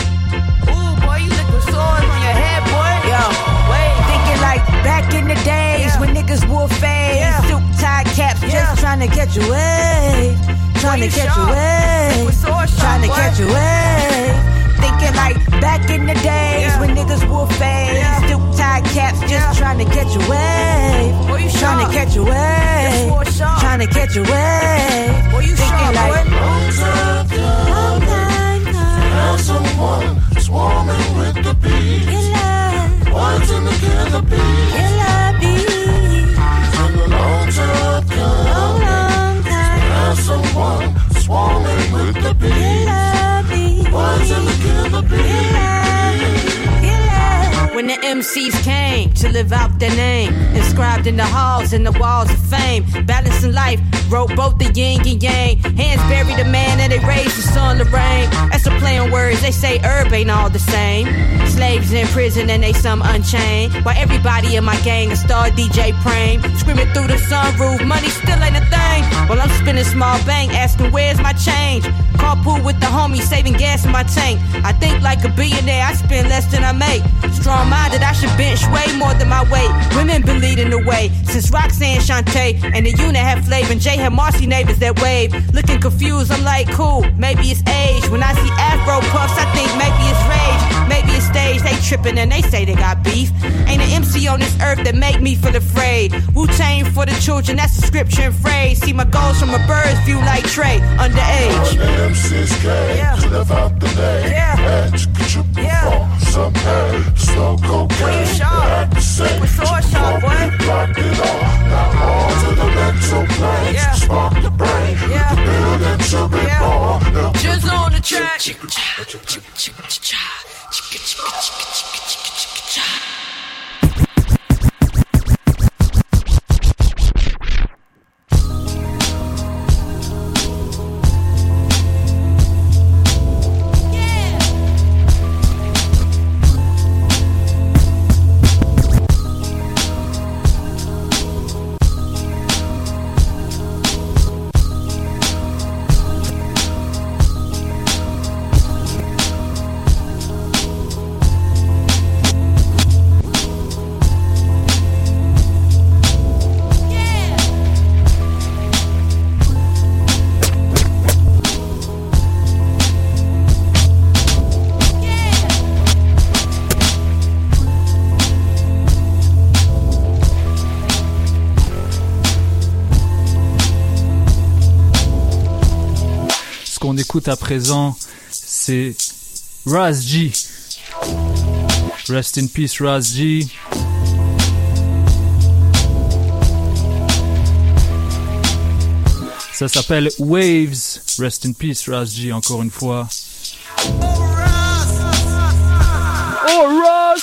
Ooh, boy, you liquid swords on your head, boy. Yo, wait, thinking like back in the days yeah. when niggas wore fades, yeah. suit tie caps, yeah. just trying to catch a wave, trying to catch a wave, trying to catch a wave. Thinking like back in the days yeah. when niggas wore fades, yeah. suit tie caps, just yeah. trying to catch a wave, trying to catch a wave, trying to catch a wave. Boy, you thinking like long time, long time, there's someone swarming with the bees. Boys in the killer bees. Killer bees. And a long time, long, long time, there's someone swarming with the bees. Killer bees. Boys in the killer bees. When the M Cs came to live out their name, inscribed in the halls and the walls of fame, balancing life, wrote both the yin and yang. Hands buried the man and they raised the sun to rain. That's a play on words, they say herb ain't all the same. Slaves in prison and they some unchained, while everybody in my gang a star D J Prame, screaming through the sunroof, money still ain't a thing. While I'm spinning small bank, asking where's my change. Carpool with the homies, saving gas in my tank. I think like a billionaire, I spend less than I make. Strong minded, I should bench way more than my weight. Women been leading the way since Roxanne Shante and the unit had flavor, and Jay had Marcy neighbors that wave. Looking confused, I'm like, cool, maybe it's age. When I see Afro puffs, I think maybe it's rage. Maybe it's stage, they tripping and they say they got beef. Ain't an M C on this earth that make me feel afraid. Wu-Tang for the children, that's a scripture and phrase. See my goals from a bird's view like Trey, underage. M Cs came yeah. to live out the day. Yeah. And you could you perform yeah. some hay, slow cocaine. Boy, you sharp. With sword sharp, boy. Rock it all. Now on to the mental plane. Yeah. Spark the brain. Yeah. The building to be yeah. born. Just on the track. qu'on écoute à présent, c'est Raz G. Rest in peace, Raz G. Ça s'appelle Waves. Rest in peace, Raz G, encore une fois. Oh, Raz!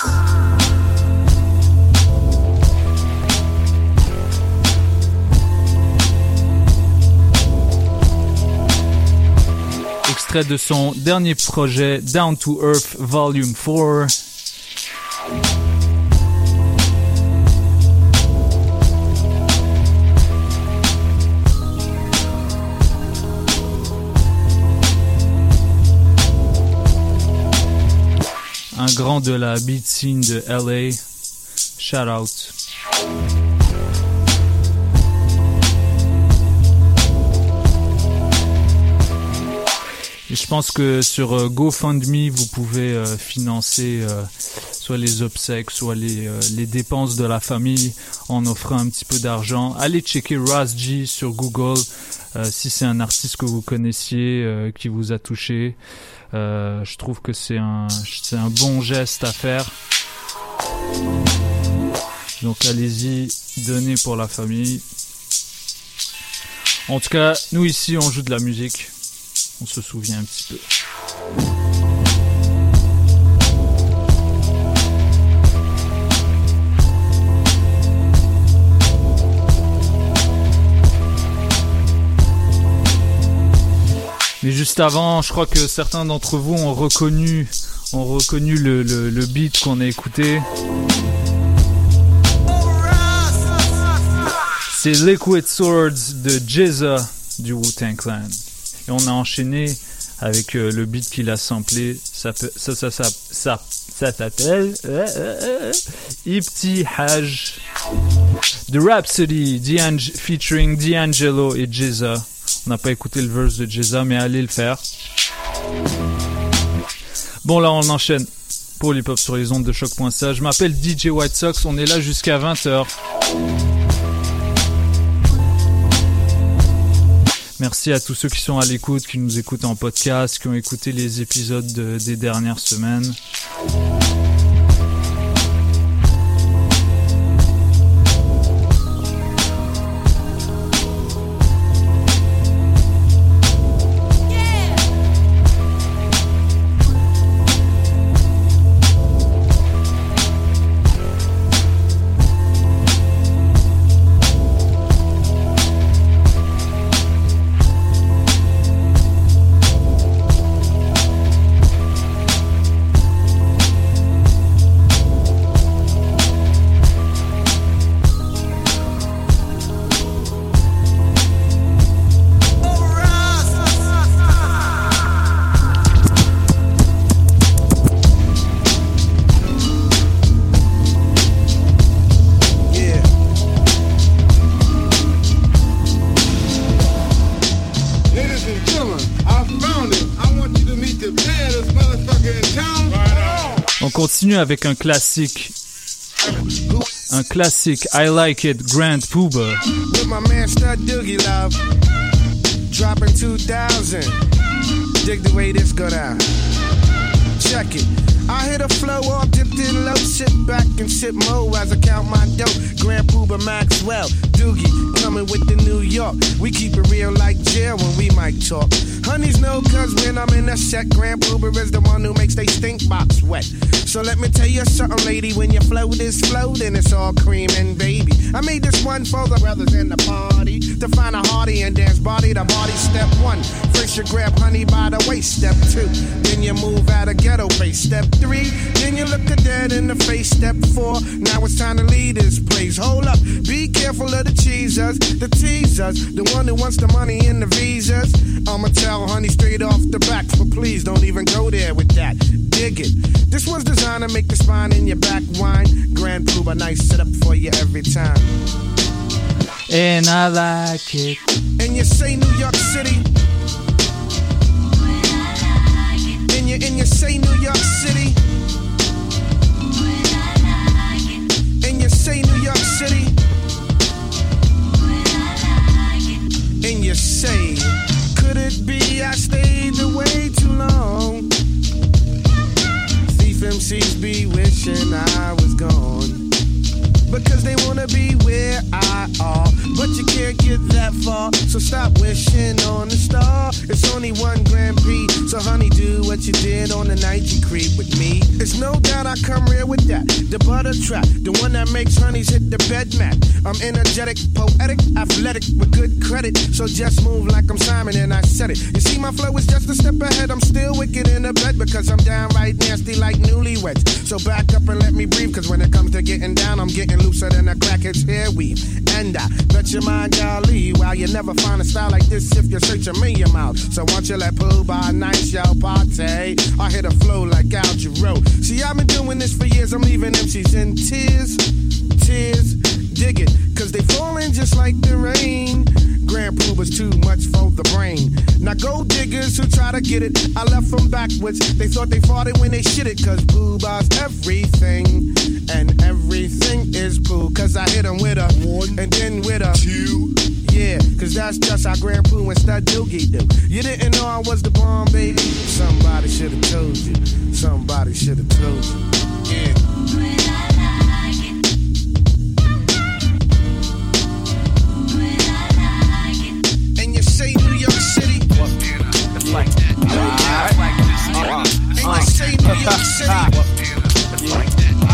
Extrait de son dernier projet, Down to Earth Volume four. grand de la beat scene de L A. Shout out. Et je pense que sur euh, GoFundMe, vous pouvez euh, financer euh, soit les obsèques, soit les, euh, les dépenses de la famille en offrant un petit peu d'argent. Allez checker Ras G sur Google euh, si c'est un artiste que vous connaissiez, euh, qui vous a touché. Euh, je trouve que c'est un, c'est un bon geste à faire. Donc allez-y, donnez pour la famille. En tout cas, nous ici, on joue de la musique. On se souvient un petit peu. Mais juste avant, je crois que certains d'entre vous ont reconnu, ont reconnu le, le, le beat qu'on a écouté. C'est Liquid Swords de Jizza du Wu-Tang Clan. Et on a enchaîné avec euh, le beat qu'il a samplé. Ça peut, ça, ça, ça, ça, ça s'appelle euh, euh, Ibtihaj de Rhapsody D'Ang- featuring D'Angelo et Jizza. On n'a pas écouté le verse de Jizza, mais allez le faire. Bon, là, on enchaîne pour l'hip-hop sur les ondes de choc point c a. Je m'appelle D J White Sox. On est là jusqu'à vingt heures. Merci à tous ceux qui sont à l'écoute, qui nous écoutent en podcast, qui ont écouté les épisodes de, des dernières semaines. On continue avec un classique. Un classique, I Like It, Grand Puba. With my man Stud Doogie Love, dropping two thousand. Dig the way this go down. Check it. I hit a flow off, dipped in low, sit back and sip mo as I count my dough. Grand Puba Maxwell, Doogie, coming with the New York. We keep it real like jail when we might talk. Honeys know cause when I'm in a set, Grand Puba is the one who makes they stink box wet. So let me tell you something, lady, when your float is floating, it's all cream and baby. I made this one for the brothers in the party, to find a hearty and dance body to body. Step one, first you grab honey by the waist. Step two, then you move out of ghetto face. Step three, then you look a dead in the face. Step four, now it's time to lead this place. Hold up, be careful of the cheesers, the teasers, the one who wants the money and the visas. I'ma tell honey straight off the back, but please don't even go there with that. Dig it. This one's designed to make the spine in your back whine. Grand Puba, nice setup for you every time. And I like it. And you say New York City. And you, and you say New York City. And you say New York City. And you say, could it be I stayed away too long? Thief M Cs be wishing I was gone, because they wanna be where I are, but you can't get that far, so stop wishing on the star. It's only one Grand Prix, so honey, do what you did on the night you creep with me. It's no doubt I come real with that, the butter trap, the one that makes honeys hit the bed mat. I'm energetic, poetic, athletic, with good credit, so just move like I'm Simon and I said it. You see my flow is just a step ahead, I'm still wicked in the bed, because I'm downright nasty like newlyweds. So back up and let me breathe, cause when it comes to getting down, I'm getting looser than a crackhead's hair weave. And I bet let your mind golly. While you never find a style like this if you search a million miles. So once you let Pooh by nice, yo, party. I hit a flow like Al Jarreau. See, I've been doing this for years. I'm leaving M Cs in tears, tears. Dig it, cause they falling just like the rain. Grand Pooh was too much for the brain. Now gold diggers who try to get it, I left them backwards. They thought they fought it when they shit it. Cause Pooh buys everything, and everything is Pooh. Cause I hit them with a one, and then with a two. Yeah, cause that's just how Grand Pooh and Stud Doogie do. You didn't know I was the bomb, baby. Somebody should've told you. Somebody should've told you. Yeah. Say New York City. It's like that. It's like this. And you say New York City. It's like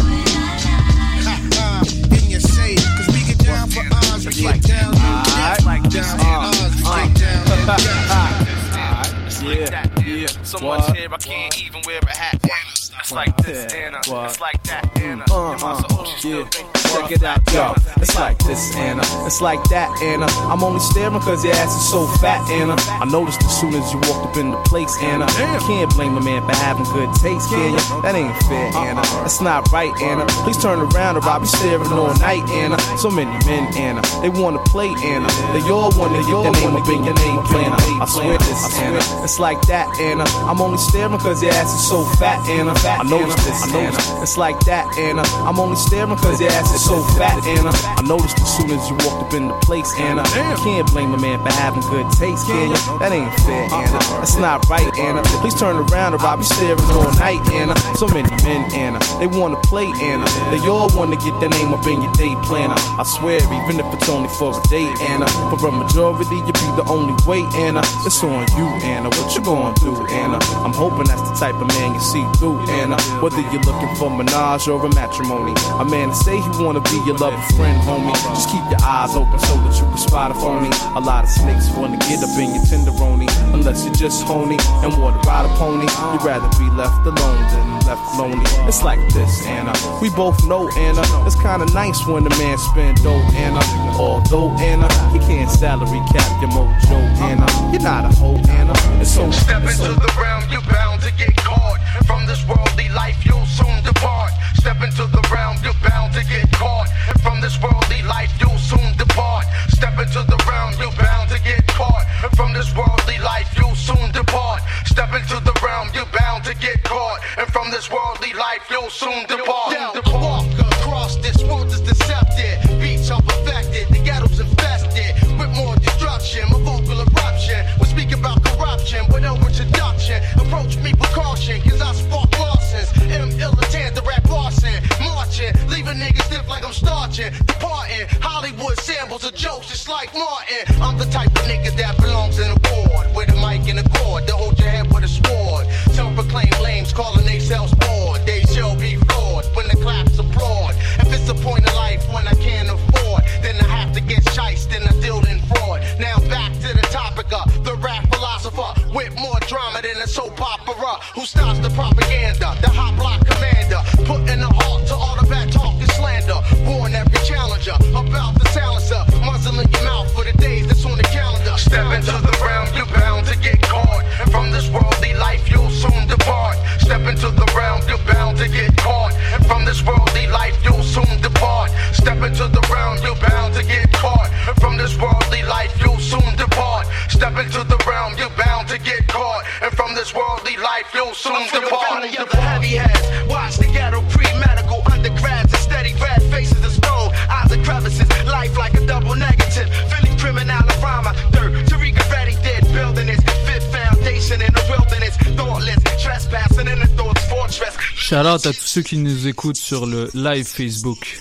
that. And you say, cause we get down for ours, we get down, down, down for ours, we get down, It's like that, yeah. So much hair I can't even wear a hat. It's like this, Anna. It's like that, Anna. Uh, uh, yeah. Check it out, yo. It's like this, Anna. It's like that, Anna. I'm only staring cause your ass is so fat, Anna. I noticed as soon as you walked up in the place, Anna. You can't blame a man for having good taste, can you? That ain't fair, Anna. That's not right, Anna. Please turn around or I'll be staring all night, Anna. So many men, Anna. They wanna play, Anna. They all wanna get their name up in your name, Anna. I swear this, Anna. It's like that, Anna. I'm only staring cause your ass is so fat, Anna. I noticed this, Anna. It's like that, Anna. I'm only staring cause your ass is so fat, Anna. I noticed as soon as you walked up in the place, Anna. You can't blame a man for having good taste, can you? That ain't fair, Anna. That's not right, Anna. Please turn around or I'll be staring all night, Anna. So many men, Anna. They wanna play, Anna. They all wanna get their name up in your day planner. I swear, even if it's only for a day, Anna. For a majority, you be the only way, Anna. It's on you, Anna. What you gonna do, Anna? I'm hoping that's the type of man you see through, Anna. Whether you're looking for menage or a matrimony, a man to say he wanna be your lover friend, homie. Just keep your eyes open so that you can spot a phony. A lot of snakes wanna get up in your tenderoni, unless you're just honey and wanna ride a pony. You'd rather be left alone than left lonely. It's like this, Anna. We both know, Anna. It's kinda nice when a man spend dough, Anna. Although, Anna, he can't salary cap your mojo, Anna. You're not a hoe, Anna. It's so step into the realm, you're bound to get caught. From this worldly life, you'll soon depart. Step into the realm, you're bound to get caught. And from this worldly life, you'll soon depart. Step into the realm, you're bound to get caught. And from this worldly life, you'll soon depart. Step into the realm, you're bound to get caught. And from this worldly life, you'll soon depart. Down the walk across this world is deceptive. Beats are perfected, the ghetto's infested with more destruction. My vocal eruption, we speak about corruption, but no introduction. Approach me precaution, cause I spark losses. M. Illitant, the rap arson. Marching, leaving niggas stiff like I'm starching. Departing, Hollywood samples of jokes just like Martin. I'm the type of nigga that belongs in a ward, with a mic and a cord to hold your head with a sword. Self-proclaimed lames calling themselves bored. They shall be flawed when the claps applaud. If it's a point of life when I can't afford, then I have to get shiced and I deal in fraud. Now back to the topic of the rap philosopher with more drama than a soap opera. Who stops the propaganda? The hot block commander, putting a halt to all the bad talk and slander. Warn every challenger about the silencer, muzzling your mouth for the days that's on the calendar. Step into the realm, you're bound to get caught. And from this worldly life, you'll soon depart. Step into the realm, you're bound to get caught. And from this worldly life, you'll soon depart. Step into the realm, you're bound to get caught. And from this worldly life, you'll soon depart. Step into the realm, you're bound to get caught. And from this worldly life, you'll soon depart. The heavy heads, watch the ghetto pre-medical undergrads and steady red faces of stone, eyes of crevices, life like a double negative. Philly criminal rhymer, dirt, Tariqa Reddy did building his fifth foundation in the wilderness, thoughtless, trespassing in the thoughts fortress. Shout out à tous ceux qui nous écoutent sur le live Facebook.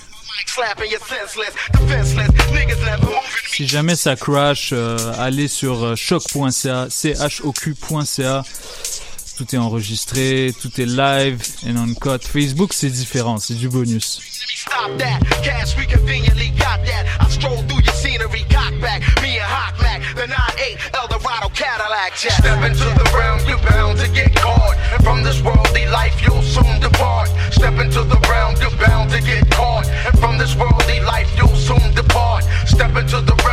Si jamais ça crash, euh, allez sur choc point c a, c h o q point c a. Tout est enregistré, tout est live and on cut. Facebook, c'est différent, c'est du bonus. Stop that, cash we conveniently got that. I stroll through your scenery, cock back, me and Hawk Mac, the nine eight Eldorado Cadillac jet. Step into the realm, you're bound to get caught. And from this worldly life, you'll soon depart. Step into the realm, you're bound to get caught. And from this worldly life, you'll soon depart. Step into the realm.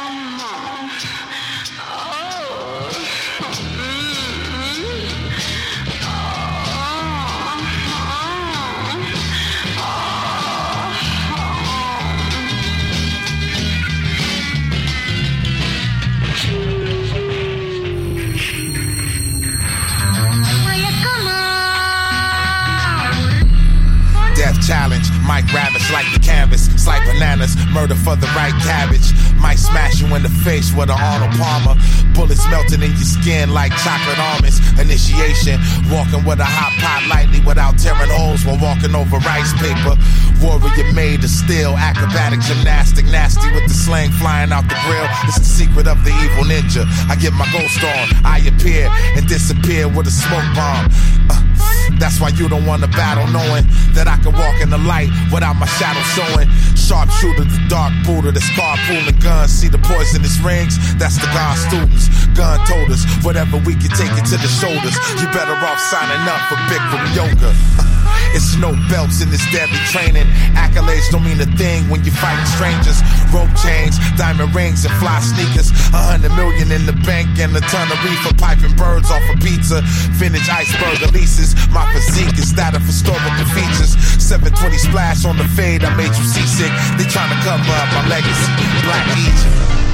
Challenge, Mike ravish like the canvas, slice bananas, murder for the right cabbage. Might smash you in the face with an Arnold Palmer. Bullets melting in your skin like chocolate almonds. Initiation, walking with a hot pot lightly without tearing holes while walking over rice paper. Warrior made of steel, acrobatic gymnastic, nasty with the sling flying out the grill. It's the secret of the evil ninja. I get my ghost on, I appear and disappear with a smoke bomb. Uh, That's why you don't wanna battle, knowing that I can walk in the light without my shadow showing. Sharpshooter, the dark Buddha, that's carpooling guns. See the poisonous rings? That's the God students. Gun told us, whatever we can take it to the shoulders. You better off signing up for Bikram yoga. It's no belts in this deadly training. Accolades don't mean a thing when you're fighting strangers. Rope chains, diamond rings, and fly sneakers. A hundred million in the bank and a ton of reefer. Piping birds off a pizza. Vintage iceberg Elises. My physique is that of historical features. seven twenty splash on the fade, I made you seasick. They trying to cover up my legacy. Black Egypt.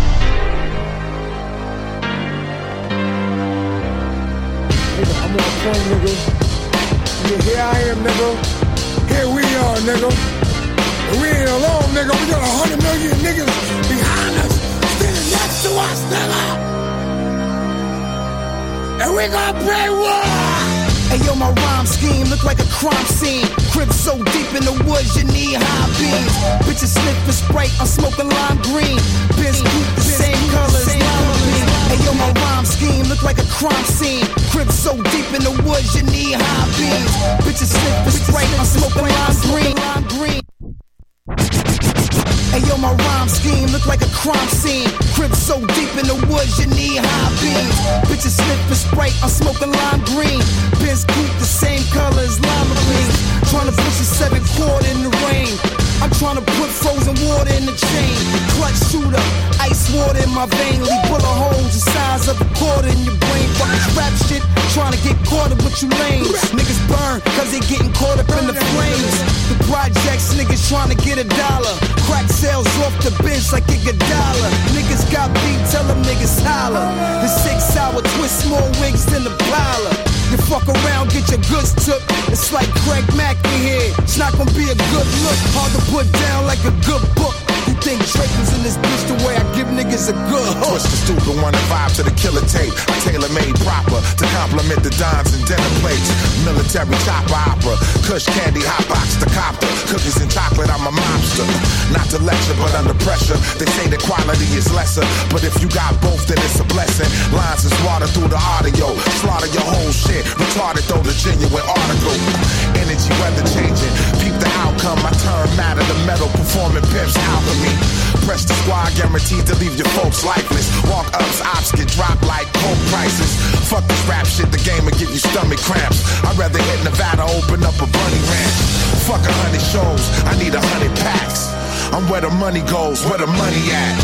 I'm on phone, nigga. Yeah, here I am, nigga. Here we are, nigga. And we ain't alone, nigga. We got a hundred million niggas behind us, standing next to us, nigga. And we gonna play war. Hey yo, my rhyme scheme look like a crime scene. Crib so deep in the woods, you need high beams. Bitches sniffing Sprite, I'm smoking lime green. Biz keep the same colors, lime green. Hey yo, my rhyme scheme look like a crime scene. Crib so deep in the woods, you need high beams. Bitches sniffing Sprite, I'm smoking lime green. Lime green. Hey yo, my rhyme scheme look like a crime scene. Crib so deep in the woods, you need high beams. Bitches sniffing Sprite, I'm smoking lime green. Biz keep the same colors, lima green. Tryna push a seven quarter in the rain. I'm tryna put frozen water in the chain. Clutch shooter, ice water in my vein. Leave bullet holes the size of a quarter in your brain. Fucking rap shit, tryna get caught up with you lanes. Niggas burn, cause they getting caught up in the flames. The projects, niggas tryna get a dollar. Crack sales off the bench like a dollar. Niggas got beat, tell them niggas holler. The six hour twist more wigs than the Impala. You fuck around, get your goods took. It's like Craig Mack in here. It's not gonna be a good look. Hard to put down like a good book. You think Drake was in this bitch the way I give niggas a good hook? Twist the stupid one and vibe to the killer tape. I tailor made proper to compliment the dimes and dinner plates. Military chopper opera, Kush candy, hot box to copter. Cookies and chocolate, I'm a mobster. Not to lecture, but under pressure. They say the quality is lesser, but if you got both, then it's a blessing. Lines is water through the audio. Slaughter your whole shit. Retarded though the genuine article. Energy weather changing. Peep the outcome. I turn matter to metal. Performing pimps alchemy. Press the squad, guaranteed to leave your folks lifeless. Walk ups, ops get dropped like coke prices. Fuck this rap shit, the game will give you stomach cramps. I'd rather hit Nevada, open up a bunny ranch. Fuck a hundred shows, I need a hundred packs. I'm where the money goes, where the money at.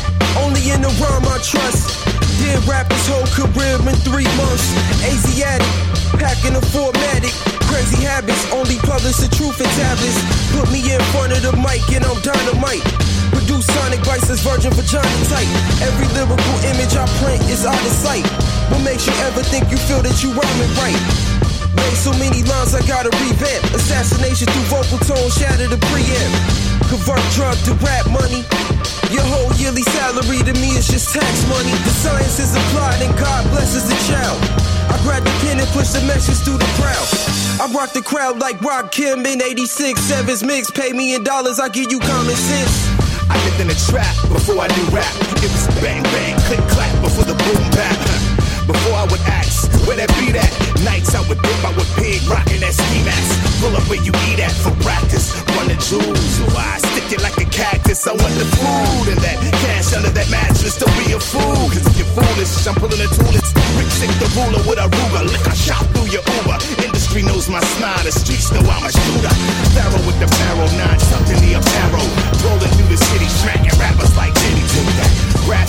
Only in the rhyme I trust. Did rap his whole career in three months. Asiatic, packing a formatic. Crazy habits, only publish the truth in tablets. Put me in front of the mic and I'm dynamite. Produce sonic vices, virgin vagina tight. Every lyrical image I print is out of sight. What makes you ever think you feel that you rhyming right? Made so many lines I gotta revamp. Assassination through vocal tone, shatter the preamp. Convert drug to rap money. Your whole yearly salary to me is just tax money. The science is applied and God blesses the child. I grab the pen and push the message through the crowd. I rock the crowd like Rock Kim in eighty-six. Sevens mix, pay me in dollars, I give you common sense. I lived in a trap before I knew rap. It was bang bang, click clap before the boom bap. Before I would ask, where that beat at? Nights I would dip, I would pig, rockin' that ski mask. Pull up where you eat at for practice. Run the jewels, why? Stick it like a cactus. I want the food and that cash under that mattress. Don't be a fool, cause if you're foolish, I'm pulling a tool. It's Rick Sick the ruler with a Ruger. Lick a shot through your Uber. Industry knows my smile, the streets know I'm a shooter. Pharaoh with the barrel, nine tucked in the apparel. Rolling through the city, smacking rappers like Diddy. Take that. Rap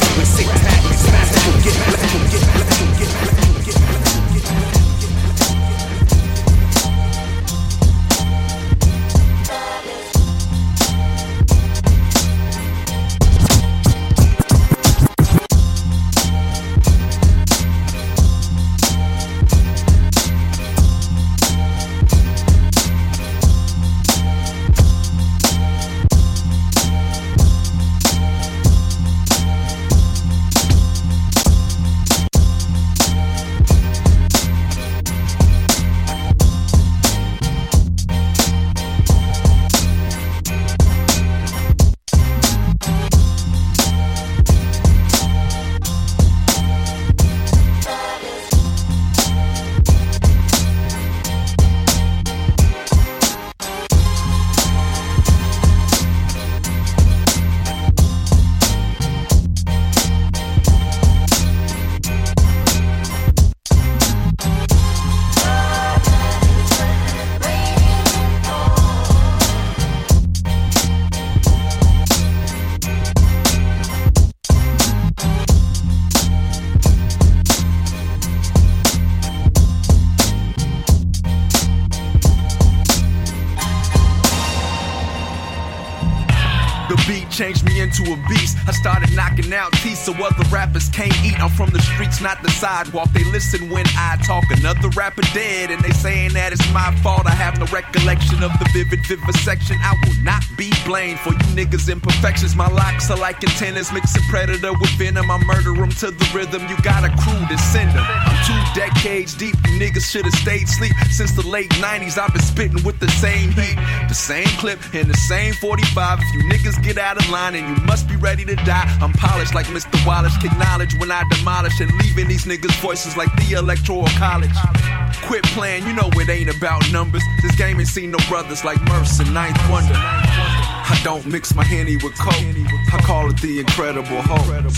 into a beast. I started knocking out teeth so other rappers can't eat. I'm from the streets, not the sidewalk. They listen when I talk. Another rapper dead, and they saying that it's my fault. I have no recollection of the vivid vivisection. I will not be blamed for you niggas' imperfections. My locks are like antennas, mixing predator with venom. I murder them to the rhythm. You got a crew to send them. I'm two decades deep. You niggas should have stayed asleep. Since the late nineties, I've been spitting with the same heat, the same clip, and the same forty-five. If you niggas get out of line, and you must be ready to die. I'm polished like Mister Wallace. Acknowledge when I demolish and leaving these niggas' voices like the electoral college. Quit playing, you know it ain't about numbers. This game ain't seen no brothers like Merce and Ninth Wonder. I don't mix my Henny with Coke. I call it the Incredible Hulk.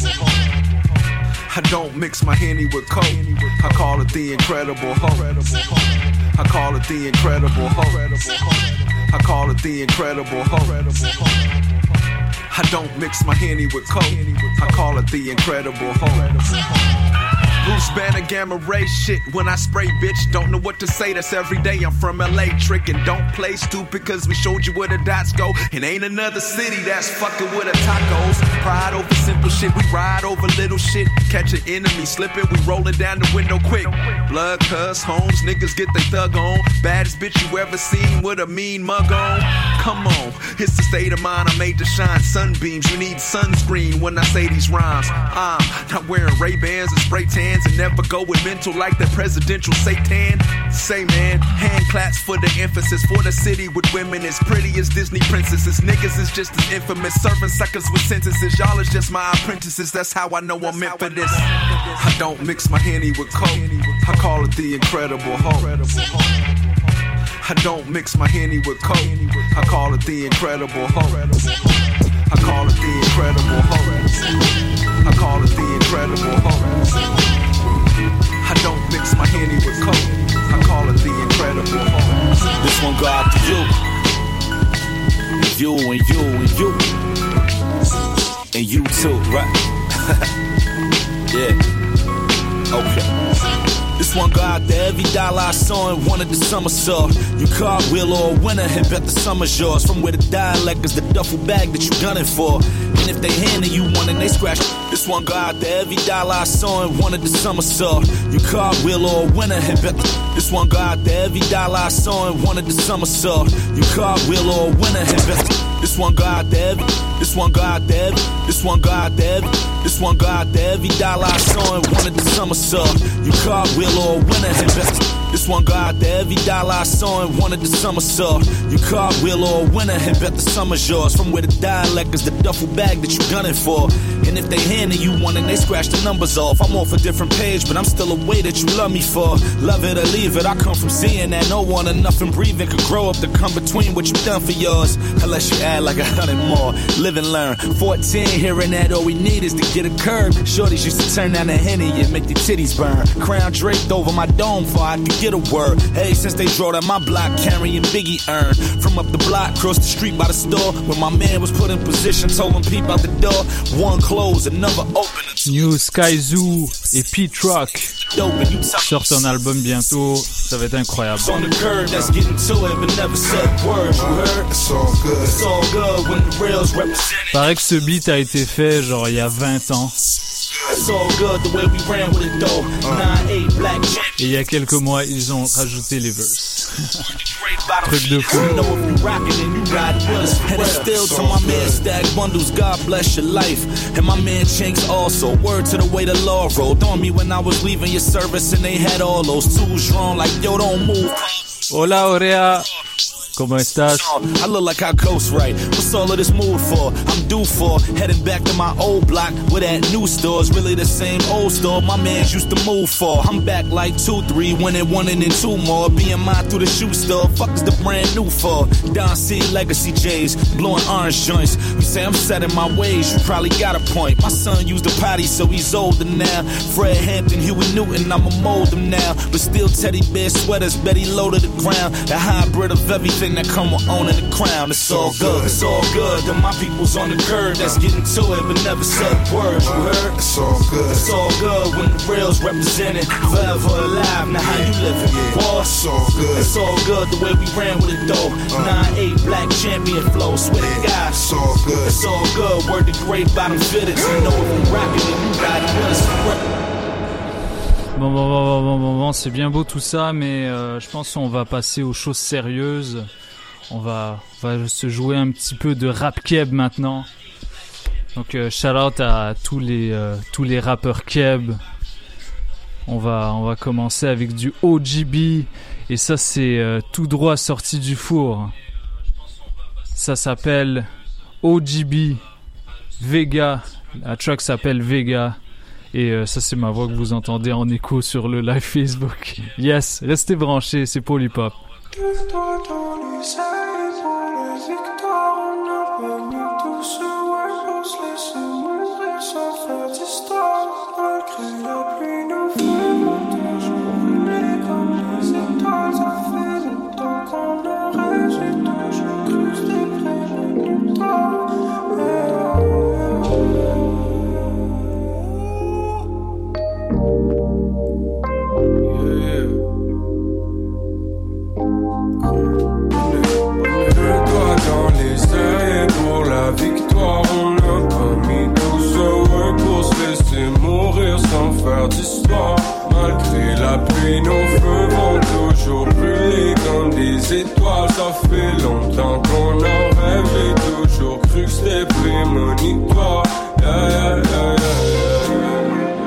I don't mix my Henny with Coke. I call it the Incredible Hulk. I call it the Incredible Hulk. I call it the Incredible Hulk. I don't mix my Henny with Coke. I call it the Incredible Hulk. Bruce Banner, Gamma Ray shit. When I spray, bitch, don't know what to say. That's every day. I'm from L A, tricking. Don't play stupid, cause we showed you where the dots go. And ain't another city that's fucking with a tacos. Pride over simple shit. We ride over little shit. Catch an enemy slipping. We rolling down the window quick. Blood, cuss, homes, niggas get they thug on. Baddest bitch you ever seen with a mean mug on. Come on, it's the state of mind I made to shine. Sunbeams, you need sunscreen when I say these rhymes. I'm not wearing Ray-Bans and spray tan and never go with mental like the presidential Satan. Say man, hand claps for the emphasis. For the city with women as pretty as Disney princesses. Niggas is just as infamous, serving suckers with sentences. Y'all is just my apprentices, that's how I know I'm meant for this. I don't mix my Henny with Coke. I call it the Incredible Hulk. I don't mix my Henny with Coke. I call it the Incredible Hulk. I call it the Incredible Hulk. I call it the Incredible Hulk. I don't mix my Henny with Coke. I call it the Incredible Hulk. This one go out to you. And you and you and you. And you too, right? Yeah. Okay. This one go out to every dollar I saw and wanted the summer saw. You cartwheel or a winner and bet the summer's yours. From where the dialect is the duffel bag that you gunning for. And if they handing you one and they scratch. This one go out to every dollar I saw and wanted the summer saw. You cartwheel or a winner and bet. This one go out to every dollar I saw and wanted the summer saw. You cartwheel or a winner and bet. This one go out to every. This one go out to every. This one go out to every. This one go out to every dollar I saw and wanted the summer saw. You cartwheel or a winner and bet. This one go out to every dollar I saw and wanted the summer saw. You cartwheel or a winner and bet the summer's yours. From where the dialect is the duffel bag that you gunning for. And if they handing you one and they scratch the numbers off, I'm off a different page, but I'm still a way that you love me for. Love it or leave it, I come from seeing that no one or nothing breathing could grow up to come between what you done for yours. Unless you add like a hundred more. Live and learn. fourteen, hearing that all we need is to get a curb. Shorties used to turn down the Henny and make their titties burn. Crown draped over my dome before I could get a word. Hey, since they drove down my block carrying Biggie urn. From up the block, across the street by the store, when my man was put in position, told him peep out the door. One close, another open. New Sky Zoo et Pete Rock sortent un album bientôt, ça va être incroyable. Paraît que ce beat a été fait genre il y a vingt ans. Et il y a quelques mois, ils ont rajouté les verses. Truc de fou. And it's still to my man Stack Bundles, God bless your life. And my man Chinks also. Word to the way the law rolled on me when I was leaving your service and they had all those tools drawn like yo don't move. Hola Aurea. ¿Cómo estás? I look like I ghost right. What's all of this mood for? I'm due for heading back to my old block where that new store's really the same old store my mans used to move for. I'm back like two, three, winning one and then two more. Being mine through the shoe store. Fuck is the brand new for? Don C, Legacy J's, blowing orange joints. You say I'm set in my ways, you probably got a point. My son used the potty, so he's older now. Fred Hampton, Huey Newton, I'ma mold him now. But still teddy bear sweaters, Betty low to the ground. The hybrid of everything. everything that come with owning the crown. It's all good, it's all good. And my people's on the curb that's getting to it but never said words. You heard? It's all good. It's all good when the real's represented. Forever alive, now how you living? War. It's all good. It's all good the way we ran with it though. nine eight black champion flow, swear to God. It's all good. It's all good. Word to great bottom fitters. You know if we rockin' it, you got it with us. Bon, bon, bon, bon, bon, bon, c'est bien beau tout ça, mais euh, je pense qu'on va passer aux choses sérieuses. On va, on va se jouer un petit peu de rap keb maintenant. Donc euh, shout out à tous les, euh, tous les rappeurs keb. On va, on va commencer avec du O G B. Et ça, c'est euh, tout droit sorti du four. Ça s'appelle O G B Vega. La track s'appelle Vega. Et euh, ça, c'est ma voix que vous entendez en écho sur le live Facebook. Yes, restez branchés, c'est Polypop. Victoire, on n'a pas mis douze heures pour se laisser mourir sans faire d'histoire. Malgré la pluie, nos feux vont toujours brûler comme des étoiles. Ça fait longtemps qu'on en rêve, j'ai toujours cru que c'était prémonitoire. Yeah, yeah, yeah, yeah, yeah.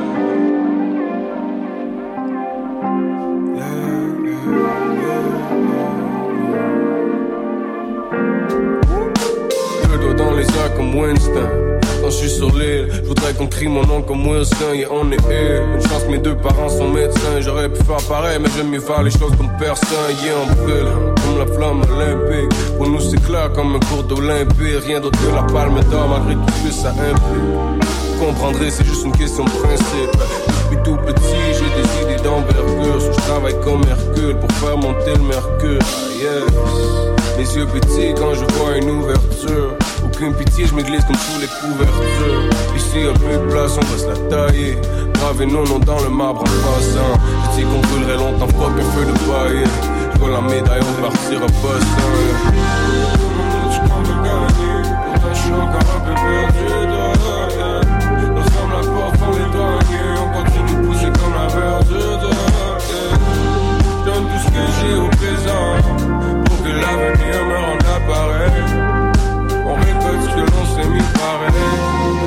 Dans les airs comme Winston. Quand je suis sur l'île, je voudrais qu'on crie mon nom comme Wilson. Yeah, on est ill. Une chance que mes deux parents sont médecins. J'aurais pu faire pareil, mais j'aime mieux faire les choses comme personne. Yeah, on brûle comme la flamme olympique. Pour nous, c'est clair comme un cours d'Olympie. Rien d'autre que la palme d'or, malgré tout ce que ça implique. Vous comprendrez, c'est juste une question de principe. Depuis tout petit, j'ai des idées d'envergure. So, je travaille comme Hercule pour faire monter le mercure. Ah, yes. Les yeux petits quand je vois une ouverture. Aucune pitié, je m'église comme sous les couvertures. Ici y'a plus de place, on va se la tailler. Graver nos noms dans le marbre en passant. J'ai dit qu'on brûlerait longtemps, fuck un feu de paille. Je vois la médaille, on partira pas sans. Je qu'on veut gagner, pourtant je suis encore un peu perdu. Nous sommes la porte, on est douaniers. On continue de pousser comme la verdure. Je donne tout ce que j'ai au présent. Que l'avenir me rende appareil. On récolte ce que l'on s'est mis pareil.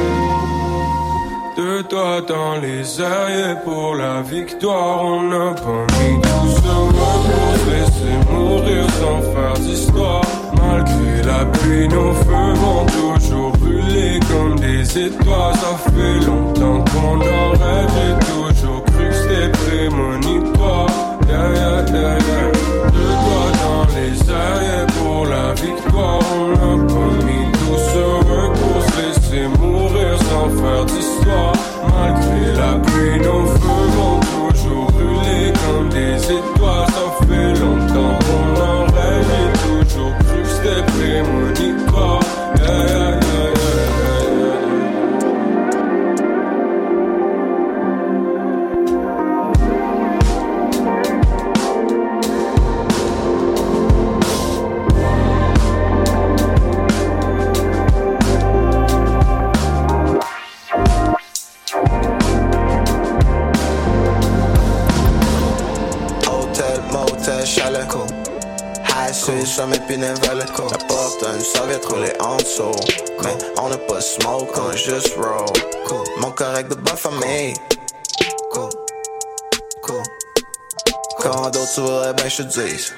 De toi dans les airs et pour la victoire. On n'a pas mis tout ce monde pour se laisser mourir sans faire d'histoire. Malgré la pluie, nos feux vont toujours brûler comme des étoiles. Ça fait longtemps qu'on en rêve. J'ai toujours cru que c'était prémonitoire. Yeah, yeah, yeah, yeah. De toi dans les airs pour la victoire. On n'a pas mis douze heures pour se laisser mourir sans faire d'histoire. Malgré la pluie, nos feux vont toujours brûler comme des étoiles. Ça fait longtemps qu'on en rêve. J'ai toujours cru que c'était prémonitoire. Yeah, yeah, yeah, yeah, yeah. Sur mes pinevelles, la porte une serviette roulée en dessous. Mais on n'a pas smoke, on a juste roll. Mon correct de bonne famille. Cool, cool. Quand d'autres tu voudrais bien je te dise.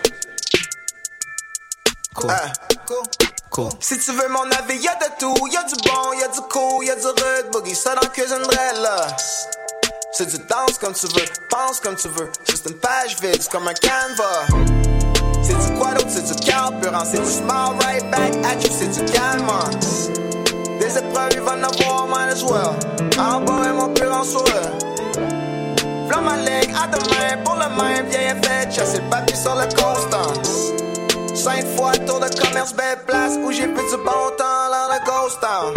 Cool, cool. Si tu veux mon avis, y'a de tout. Y'a du bon, y'a du cool, y'a du rude boogie. Ça dans la cuisine de là. C'est du danse comme tu veux, pense comme tu veux. Juste une page vide, c'est comme un canevas. C'est du quoi d'autre, c'est du carburant. C'est du smile right back at you, c'est du calmant. Des épreuves, il va en avoir, might as well. En bas et mon pur en sourire. V'là ma ligue, à demain, pour le même vieil effet. Chasser le papier sur le constant. Cinq fois tour de commerce, belle place où j'ai plus du bon temps, là de Ghost Town.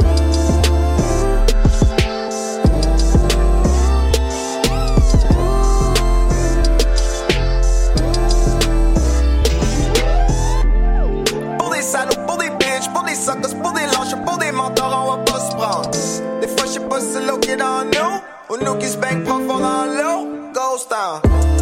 Pour des salauds, pour des bitches, pour des suckers, pour des lâches, pour des mentors, on va pas se prendre. Des fois, j'sais pas si c'est l'eau qui est dans nous, ou nous qui se baignent profond dans l'eau. Ghost Town.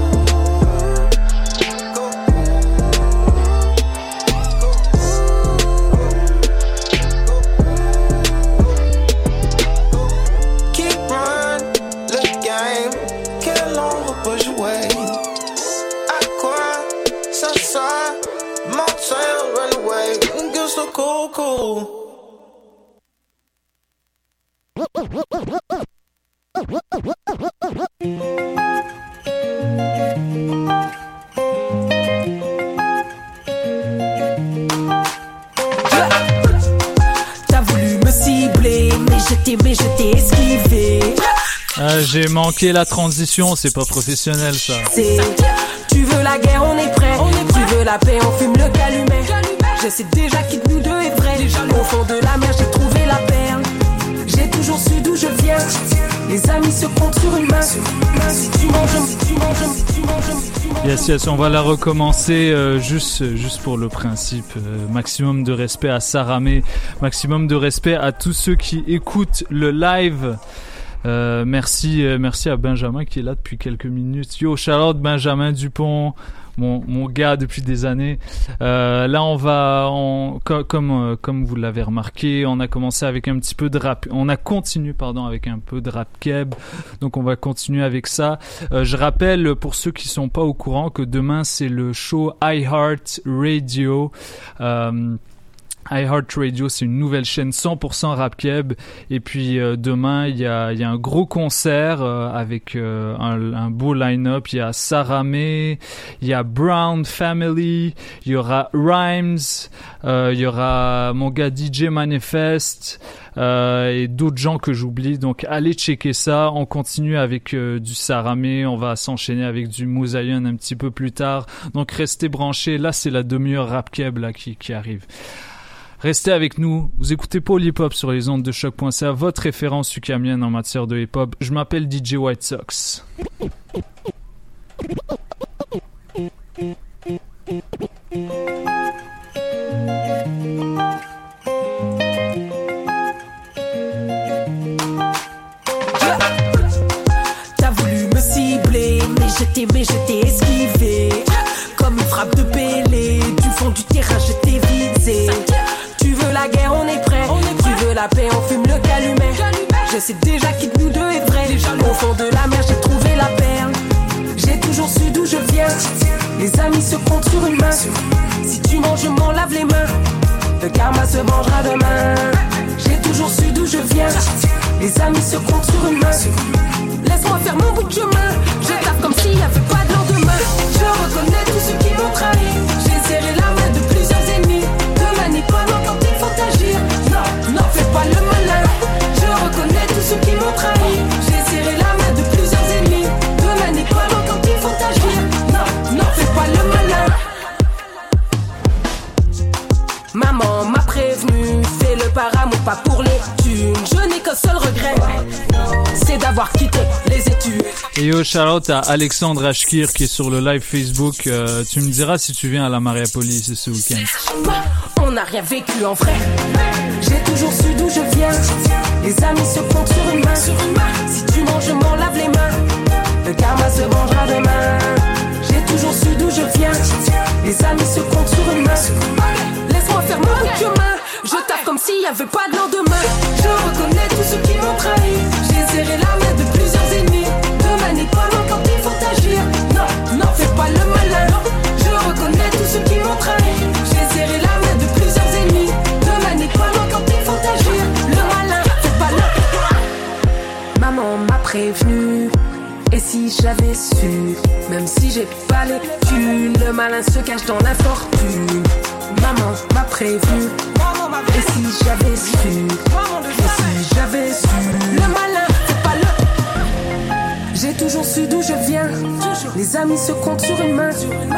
Cool, cool. T'as voulu me cibler, mais je t'ai, mais je t'ai esquivé. Ah, j'ai manqué la transition, c'est pas professionnel ça. C'est, tu veux la guerre, on est prêt. Tu veux la paix, on fume le calumet. Je sais déjà qui de nous deux est vrai. Au fond de la mer, j'ai trouvé la perle. J'ai toujours su d'où je viens. Les amis se comptent sur une main. Si tu manges, si tu manges, si tu manges, si tu manges. Yes, yes, on va la recommencer euh, juste, juste pour le principe. Euh, maximum de respect à Saramé. Maximum de respect à tous ceux qui écoutent le live. Euh, merci, euh, merci à Benjamin qui est là depuis quelques minutes. Yo, shout out Benjamin Dupont. Mon, mon gars depuis des années. Euh, là, on va, on, co- comme, euh, comme vous l'avez remarqué, on a commencé avec un petit peu de rap. On a continué, pardon, avec un peu de rap keb. Donc, on va continuer avec ça. Euh, je rappelle pour ceux qui sont pas au courant que demain c'est le show iHeart Radio. Euh, iHeart Radio, c'est une nouvelle chaîne cent pour cent rap keb. Et puis euh, demain, il y a, il y a un gros concert euh, avec euh, un, un beau line-up. Il y a Saramé, il y a Brown Family, il y aura Rhymes, euh, il y aura mon gars D J Manifest euh, et d'autres gens que j'oublie. Donc allez checker ça. On continue avec euh, du Saramé. On va s'enchaîner avec du Moussaïen un petit peu plus tard. Donc restez branchés. Là, c'est la demi-heure rap keb là qui, qui arrive. Restez avec nous, vous écoutez Paul Hip Hop sur les ondes de choc point c a, votre référence ukamienne en matière de hip hop. Je m'appelle D J White Sox. T'as voulu me cibler, mais je t'ai, mais je t'ai esquivé. Comme une frappe de Pélé, du fond du terrain je t'ai visé. Tu veux la guerre, on est prêt. Tu veux la paix, on fume le calumet. Je sais déjà qui de nous deux est vrai. Au fond de la mer, j'ai trouvé la perle. J'ai toujours su d'où je viens. Les amis se comptent sur une main. Si tu manges, je m'en lave les mains. Le karma se vengera demain. J'ai toujours su d'où je viens. Les amis se comptent sur une main. Laisse-moi faire mon bout de chemin. Je tape comme s'il n'y avait pas de lendemain. Je reconnais tous ceux qui m'ont trahi. J'ai serré la main de plusieurs ennemis. Demain n'est pas loin quand il faut agir. Non, n'en fais pas le malin. Je reconnais tous ceux qui m'ont trahi. J'ai serré la main de plusieurs ennemis. Demain n'est pas loin quand il faut agir. Non, n'en fais pas le malin. Maman m'a prévenu, fais le par amour, pas pour les thunes. Je n'ai qu'un seul regret, c'est d'avoir quitté les études. Et yo, shout-out à Alexandre Ashkir qui est sur le live Facebook. Euh, tu me diras si tu viens à la Mariapolis ce week-end. On n'a rien vécu en vrai. J'ai toujours su d'où je viens. Les amis se comptent sur une main. Si tu manges, je m'en lave les mains. Le karma se vengera demain. J'ai toujours su d'où je viens. Les amis se comptent sur une main. Laisse-moi faire mon bout de chemin. Je tape comme s'il n'y avait pas de lendemain. Je reconnais tous ceux qui m'ont trahi. J'ai serré la main de plusieurs ennemis. Demain n'est pas loin quand il faut agir. Non, n'en fais pas le malin. Je reconnais tous ceux qui m'ont trahi. J'ai serré la main de plusieurs ennemis. Demain n'est pas loin quand il faut agir. Le malin, fais pas le... Maman m'a prévenu. Et si j'avais su, même si j'ai pas les thunes, le malin se cache dans l'infortune. Maman m'a prévenu. Et si j'avais su, et si j'avais su, le malin, c'est pas le... J'ai toujours su d'où je viens. Les amis se comptent sur une main. Si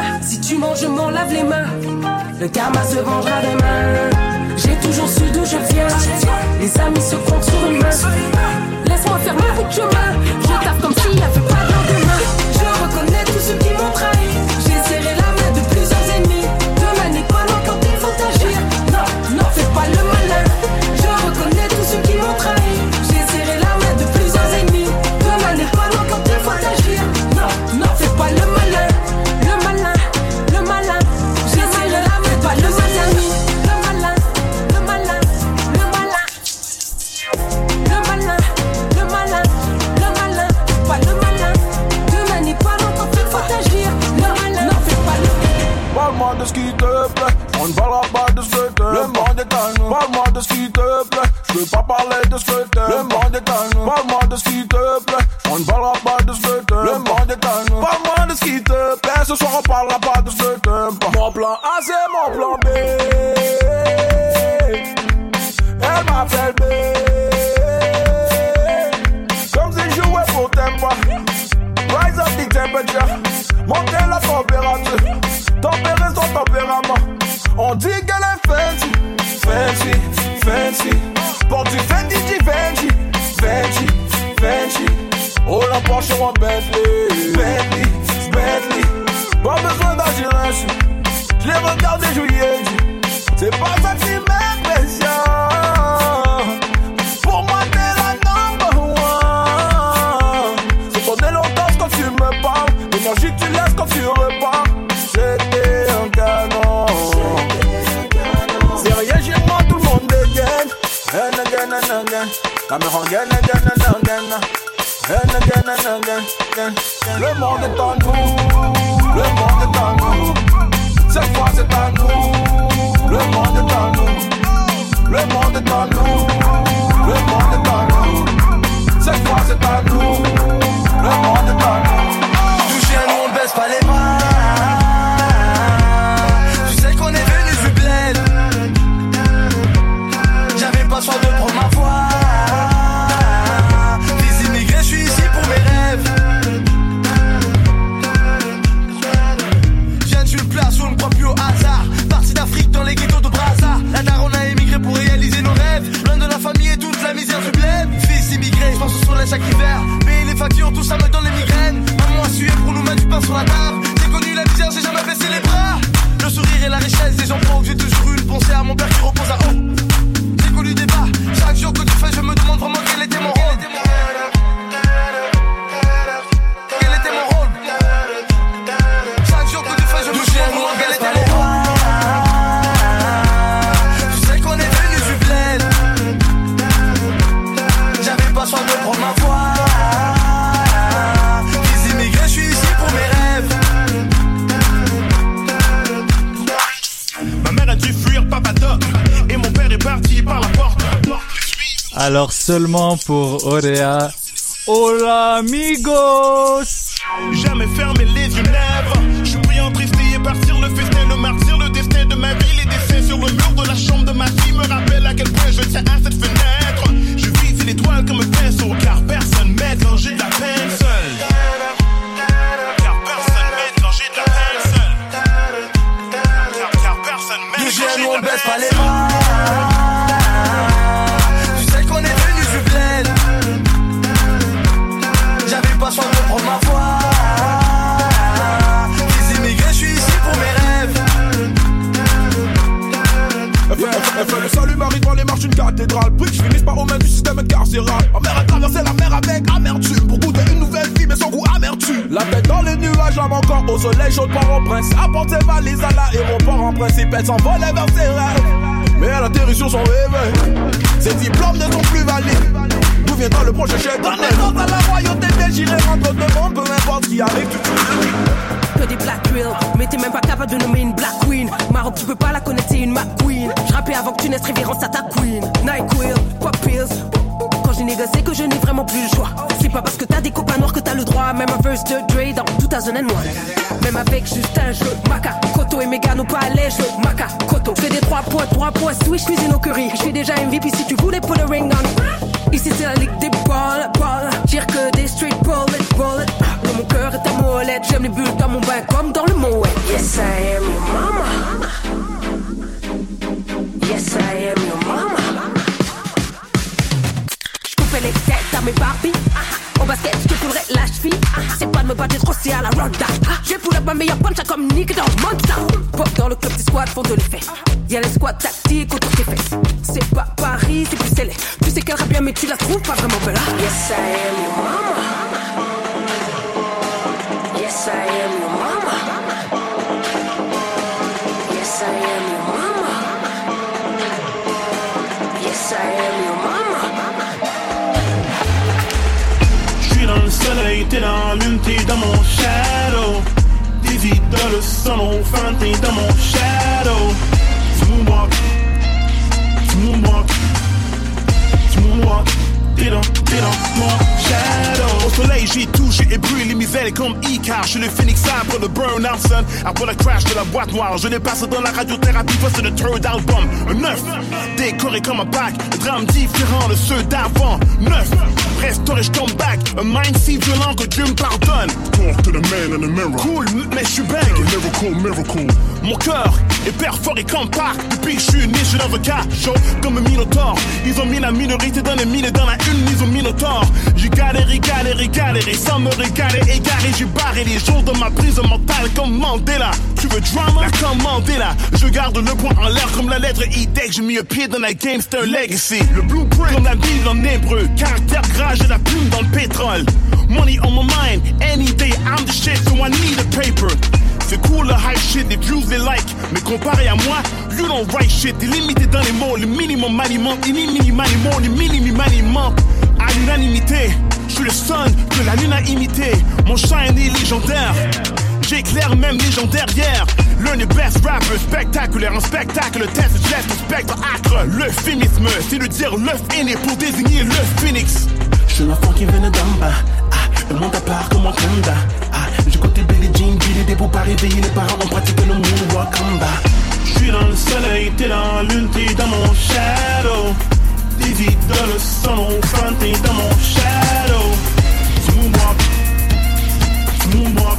tu manges, je m'en lave les mains. Le karma se vengera demain. J'ai toujours su d'où je viens. Les amis se comptent sur une main. Laisse-moi faire ma route chemin. Je tape comme s'il n'y avait pas de lendemain. Je reconnais tous ceux qui m'ont trahi. J'ai serré la main de plusieurs ennemis. Demain n'est pas loin quand il faut agir. Non, non, fais pas le malin. Je reconnais tous ceux qui m'ont trahi. J'ai serré la main de plusieurs ennemis. Demain n'est pas loin quand il faut agir. Non, non, fais pas le malin. Le malin, le malin. J'ai serré la main, pas le malin. Le malin, le malin, le malin. Le malin, le malin, le malin. Pas le malin. Demain n'est pas loin quand il faut agir. Le malin, non, fais pas le malin. Parle-moi de ce qui te plaît, on ne parlera pas de ce que t'aimes. Le monde est à nous. Parle-moi de ce qui te plaît, je veux pas parler de ce que t'aimes. Le monde est à nous. Parle-moi de ce qui te plaît, on ne parlera pas de ce que t'aimes. Le monde est à nous. Parle-moi de ce qui te plaît, ce soir on parlera pas de ce que t'aimes pas. Mon plan A c'est mon plan B. Elle m'appelle B. Comme si je jouais pour tempo. Rise up the temperature, monter la température. Tempérer son tempérament. On dit qu'elle est fancy, fancy, fancy. Porte du Fendi, du Fendi, Fendi, Fendi. Oh la Porsche en Bentley, Bentley, Bentley. Pas besoin d'agir ainsi. Je les regarde et je lui ai dit, c'est pas ça qui m'impressionne. Pour moi t'es la number one. C'est ton éloquence quand tu me parles, l'énergie que tu laisses quand tu repars. C'était un canon. C'est rien chez moi, tout le monde dégaine. And again and again. La me rend again, again and again. And again and again, again. Le monde est en nous. Le monde est en nous. Cette fois c'est à nous. Le monde est en nous. Le monde est en nous. Le monde est en nous. Cette fois c'est à nous. Le monde est en nous. Touché à nous, on baisse pas les bras. Tu sais qu'on est venu du bled. J'avais pas soin de prendre ma voix. Les immigrés, je suis ici pour mes rêves. Viens d'une place où on ne croit plus au hasard. Parti d'Afrique dans les ghettos de Brazza. La daronne a émigré pour réaliser nos rêves. Loin de la famille et toute la misère du bled. Fils immigré, je pense au soleil chaque hiver. Payer les factures, tout ça me donne les migraines. Maman a sué pour nous mettre du pain sur la table. J'ai connu la misère, j'ai jamais baissé les bras. Le sourire et la richesse des gens pauvres. J'ai toujours eu une pensée à mon père qui repose à haut. J'ai connu des bas. Chaque jour que tu fais, je me demande vraiment quel était mon rôle. Quel était mon rôle. Chaque jour que tu fais, je me demande vraiment quel était mon rôle. Tu sais qu'on est venu du bled. J'avais pas soin de prendre ma voix. Les immigrés, je suis ici pour mes rêves. Ma mère a dû fuir Papa Doc. Et mon père est parti par la porte. Alors seulement pour Orea. Hola amigos. Jamais fermer les yeux, never. Je suis pris en tristille et partir le festin, le martyr, le destin de ma vie. Les dessins sur le mur de la chambre de ma fille me rappellent à quel point je tiens à cette fenêtre. Je vise l'étoile comme un pinceau, car personne m'aide quand j'ai de la peine seule. Car personne m'aide quand j'ai de la peine seule. Car, car personne m'aide quand j'ai de la peine seule. Les bras. Tu sais qu'on est venu du bled. J'avais pas soin de prendre ma voix. Les immigrés, je suis ici pour mes rêves. Elle fait le salut Marie dans les marches d'une cathédrale. Puis que je finisse par aux mains du système carcéral. Ma mère a traversé la mer avec amertume pour goûter une nouvelle vie mais sans goût amertume. La tête dans les nuages, l'âme encore au soleil chaud par au prince. Apporte ses valises à l'aéroport en principe elle s'envolait vers ses rêves. Mais elle atterrit sur son réveil. Ses diplômes ne sont plus valides. D'où viendra le prochain chef de naissance à la royauté belge. J'irai rendre de monde, peu importe ce qui arrive tout de suite. Que des black real, mais t'es même pas capable de nommer une black queen. Maroc, tu peux pas la connaître, c'est une McQueen. J'rappais avant que tu naisses, révérence à ta queen. NyQuil, pop pills. Quand j'ai négocié que je n'ai vraiment plus le choix. C'est pas parce que t'as des copains noirs que t'as le droit. Même un verse de Dre dans deux mille un. Même avec Justin, je veux Maca. Koto et Megan au palais, je veux Maca. Koto. Je fais des trois points, trois points, switch, cuisine au curry. Je fais déjà M V P si tu voulais put a ring on. Ici c'est la ligue des balles, balles. Tire que des street bullet, bullet. Dans mon cœur est ta molette. J'aime les bulles dans mon bain comme dans le Moet. Yes. Yes, I am your mama. Yes, I am your mama. J'coupais les têtes à mes Barbies. Au basket, je te coulerais la cheville. C'est pas de me battre trop, c'est à la ronda. J'ai pull up ma meilleure punch comme Nick dans Monta. Pop dans le club, tes squads font de l'effet. Y'a les squads tactiques autour des fesses. C'est pas Paris, c'est Bruxelles. Tu sais qu'elle rappe bien, mais tu la trouves pas vraiment belle. Yes, I am your mama. Yes, I am your mama. Yes, I am your mama. Yes, I am your mama. J'suis dans le soleil, t'es dans la lune, t'es dans mon shadow. Des idoles sans mon fan, t'es dans mon shadow. Tu moonwalk, tu moonwalk, tu moonwalk. T'es dans, t'es dans mon shadow. Au soleil j'ai touché et brûlé les misères comme Icar. Je suis le phoenix après le burn-out son. Après le crash de la boîte noire, je l'ai passé dans la radiothérapie face le third album. Un neuf, décoré comme un pack. Un drame différent de ceux d'avant. Neuf, restauré, j'come back. Un mind si violent que Dieu me pardonne. Talk to the man in the mirror. Cool, mais j'suis bang. Miracle, miracle. Mon cœur est perforé comme Park. Depuis que j'suis né, j'suis dans un cas chaud comme un minotaure. Ils ont mis la minorité dans les mines et dans la une, ils ont mis nos torts. J'ai galéré, galéré, galéré, sans me régaler, égaré. J'ai barré les jours de ma prise mentale comme Mandela. Tu veux drama? La commandée là. Je garde le poing en l'air comme la lettre I. Dès que j'ai mis un pied dans la game, c'est un legacy. Le blueprint comme la Bible en hébreu. Caractère gras, j'ai la plume dans le pétrole. Money on my mind, any day I'm the shit, so I need a paper. C'est cool le hype shit, les views les like. Mais comparé à moi, you don't write shit. T'es limité dans les mots, le minimum m'alimente. Il minimum m'alimente, le minimum m'alimente. À l'unanimité, je suis le son que la lune a imité. Mon shine est légendaire. J'éclaire même légendaire hier. L'un des best rappers spectaculaire. Un spectacle, le test, je laisse le spectre acre. Le féminisme, c'est de dire l'œuf aîné pour désigner le phoenix. Je suis l'enfant qui vient de d'en bas. Ah, le monde à part comme Wakanda. Ah, j'ai côté Billie Jean, Billy des pour pas réveiller les parents. On pratique le moonwalk en bas. Je suis dans le soleil, t'es dans la lune, t'es dans mon shadow. Des idoles sans mon fan, t'es dans mon shadow. Tu moonwalk, tu moonwalk,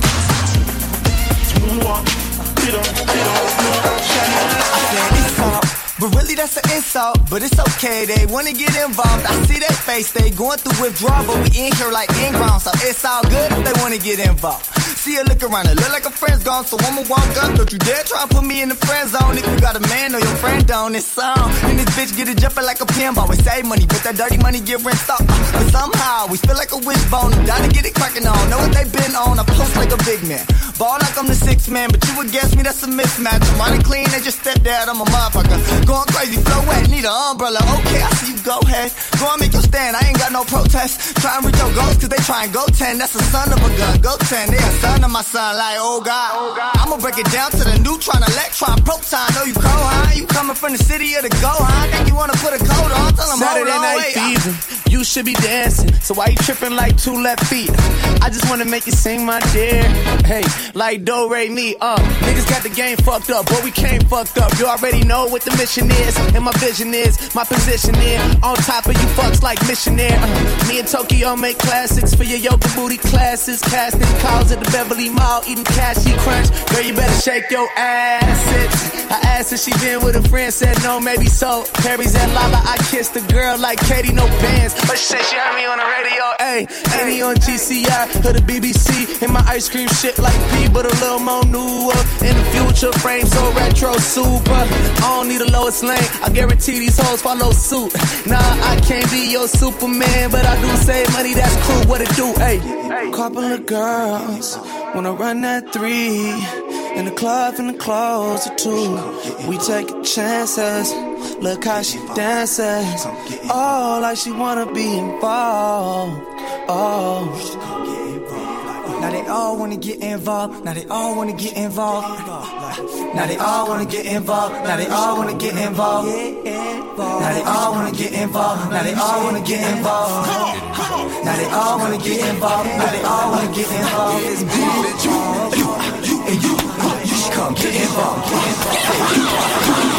tu moonwalk. T'es dans, t'es dans mon shadow. But really that's an insult, but it's okay, they wanna get involved. I see their face, they going through withdrawal, but we in here like in ground, so it's all good if they wanna get involved. See her look around, it look like her friend's gone, so I'ma walk up. Don't you dare try and put me in the friend zone. If you got a man or your friend on this song, and this bitch get it jumping like a pinball. We save money, but that dirty money get rinsed off. But somehow we feel like a wishbone. I'm down to get it cracking on. Know what they been on? I post like a big man, ball like I'm the sixth man, but you would guess me that's a mismatch. I'm running clean, they just step dad. I'm a motherfucker, going crazy, flow wet, need an umbrella. Okay, I see you, go ahead, go and make your stand. I ain't got no protest. Try and reach your goals, cause they try and go ten. That's the son of a gun, go ten. They a son of my son, like oh god, oh god. I'ma break it down to the neutron, electron, proton. Know you cold, huh? You coming from the city of the go, huh? Think you wanna put a coat on? Tell them Saturday hold on, night wait. fever, you should be dancing. So why you tripping like two left feet? I just wanna make you sing, my dear. Hey, like do re mi, uh. Niggas got the game fucked up, but we came fucked up. You already know what the mission is, and my vision is, my position is on top of you fucks like missionaire. Uh, me and Tokyo make classics for your yoga booty classes. Casting calls at the Beverly Mall, eating cashew crunch. Girl, you better shake your ass. I asked if she been with a friend, said no, maybe so. Perry's at lava, I kissed the girl like Katie, no bands. But she said she heard me on the radio, ayy. Annie on G C I, or the B B C. And my ice cream shit like P, but a little more newer. In the future, frame so retro super. I don't need a Lois Lane, I guarantee these hoes follow suit. Nah, I can't be your Superman, but I do save money, that's cool, what it do, ayy. Couple of girls wanna run that three. In the club, in the clothes or two. We take chances. Look how she dances. Oh, like she wanna be involved. Oh. Now they all wanna get involved. Now they all wanna get involved. Now they all wanna get involved. Now they all wanna get involved. Now they all wanna get involved. Now they all wanna get involved. Now they all wanna get involved. Now they all wanna get involved. It's me, you, you, you, and you. You should come get involved. Get involved.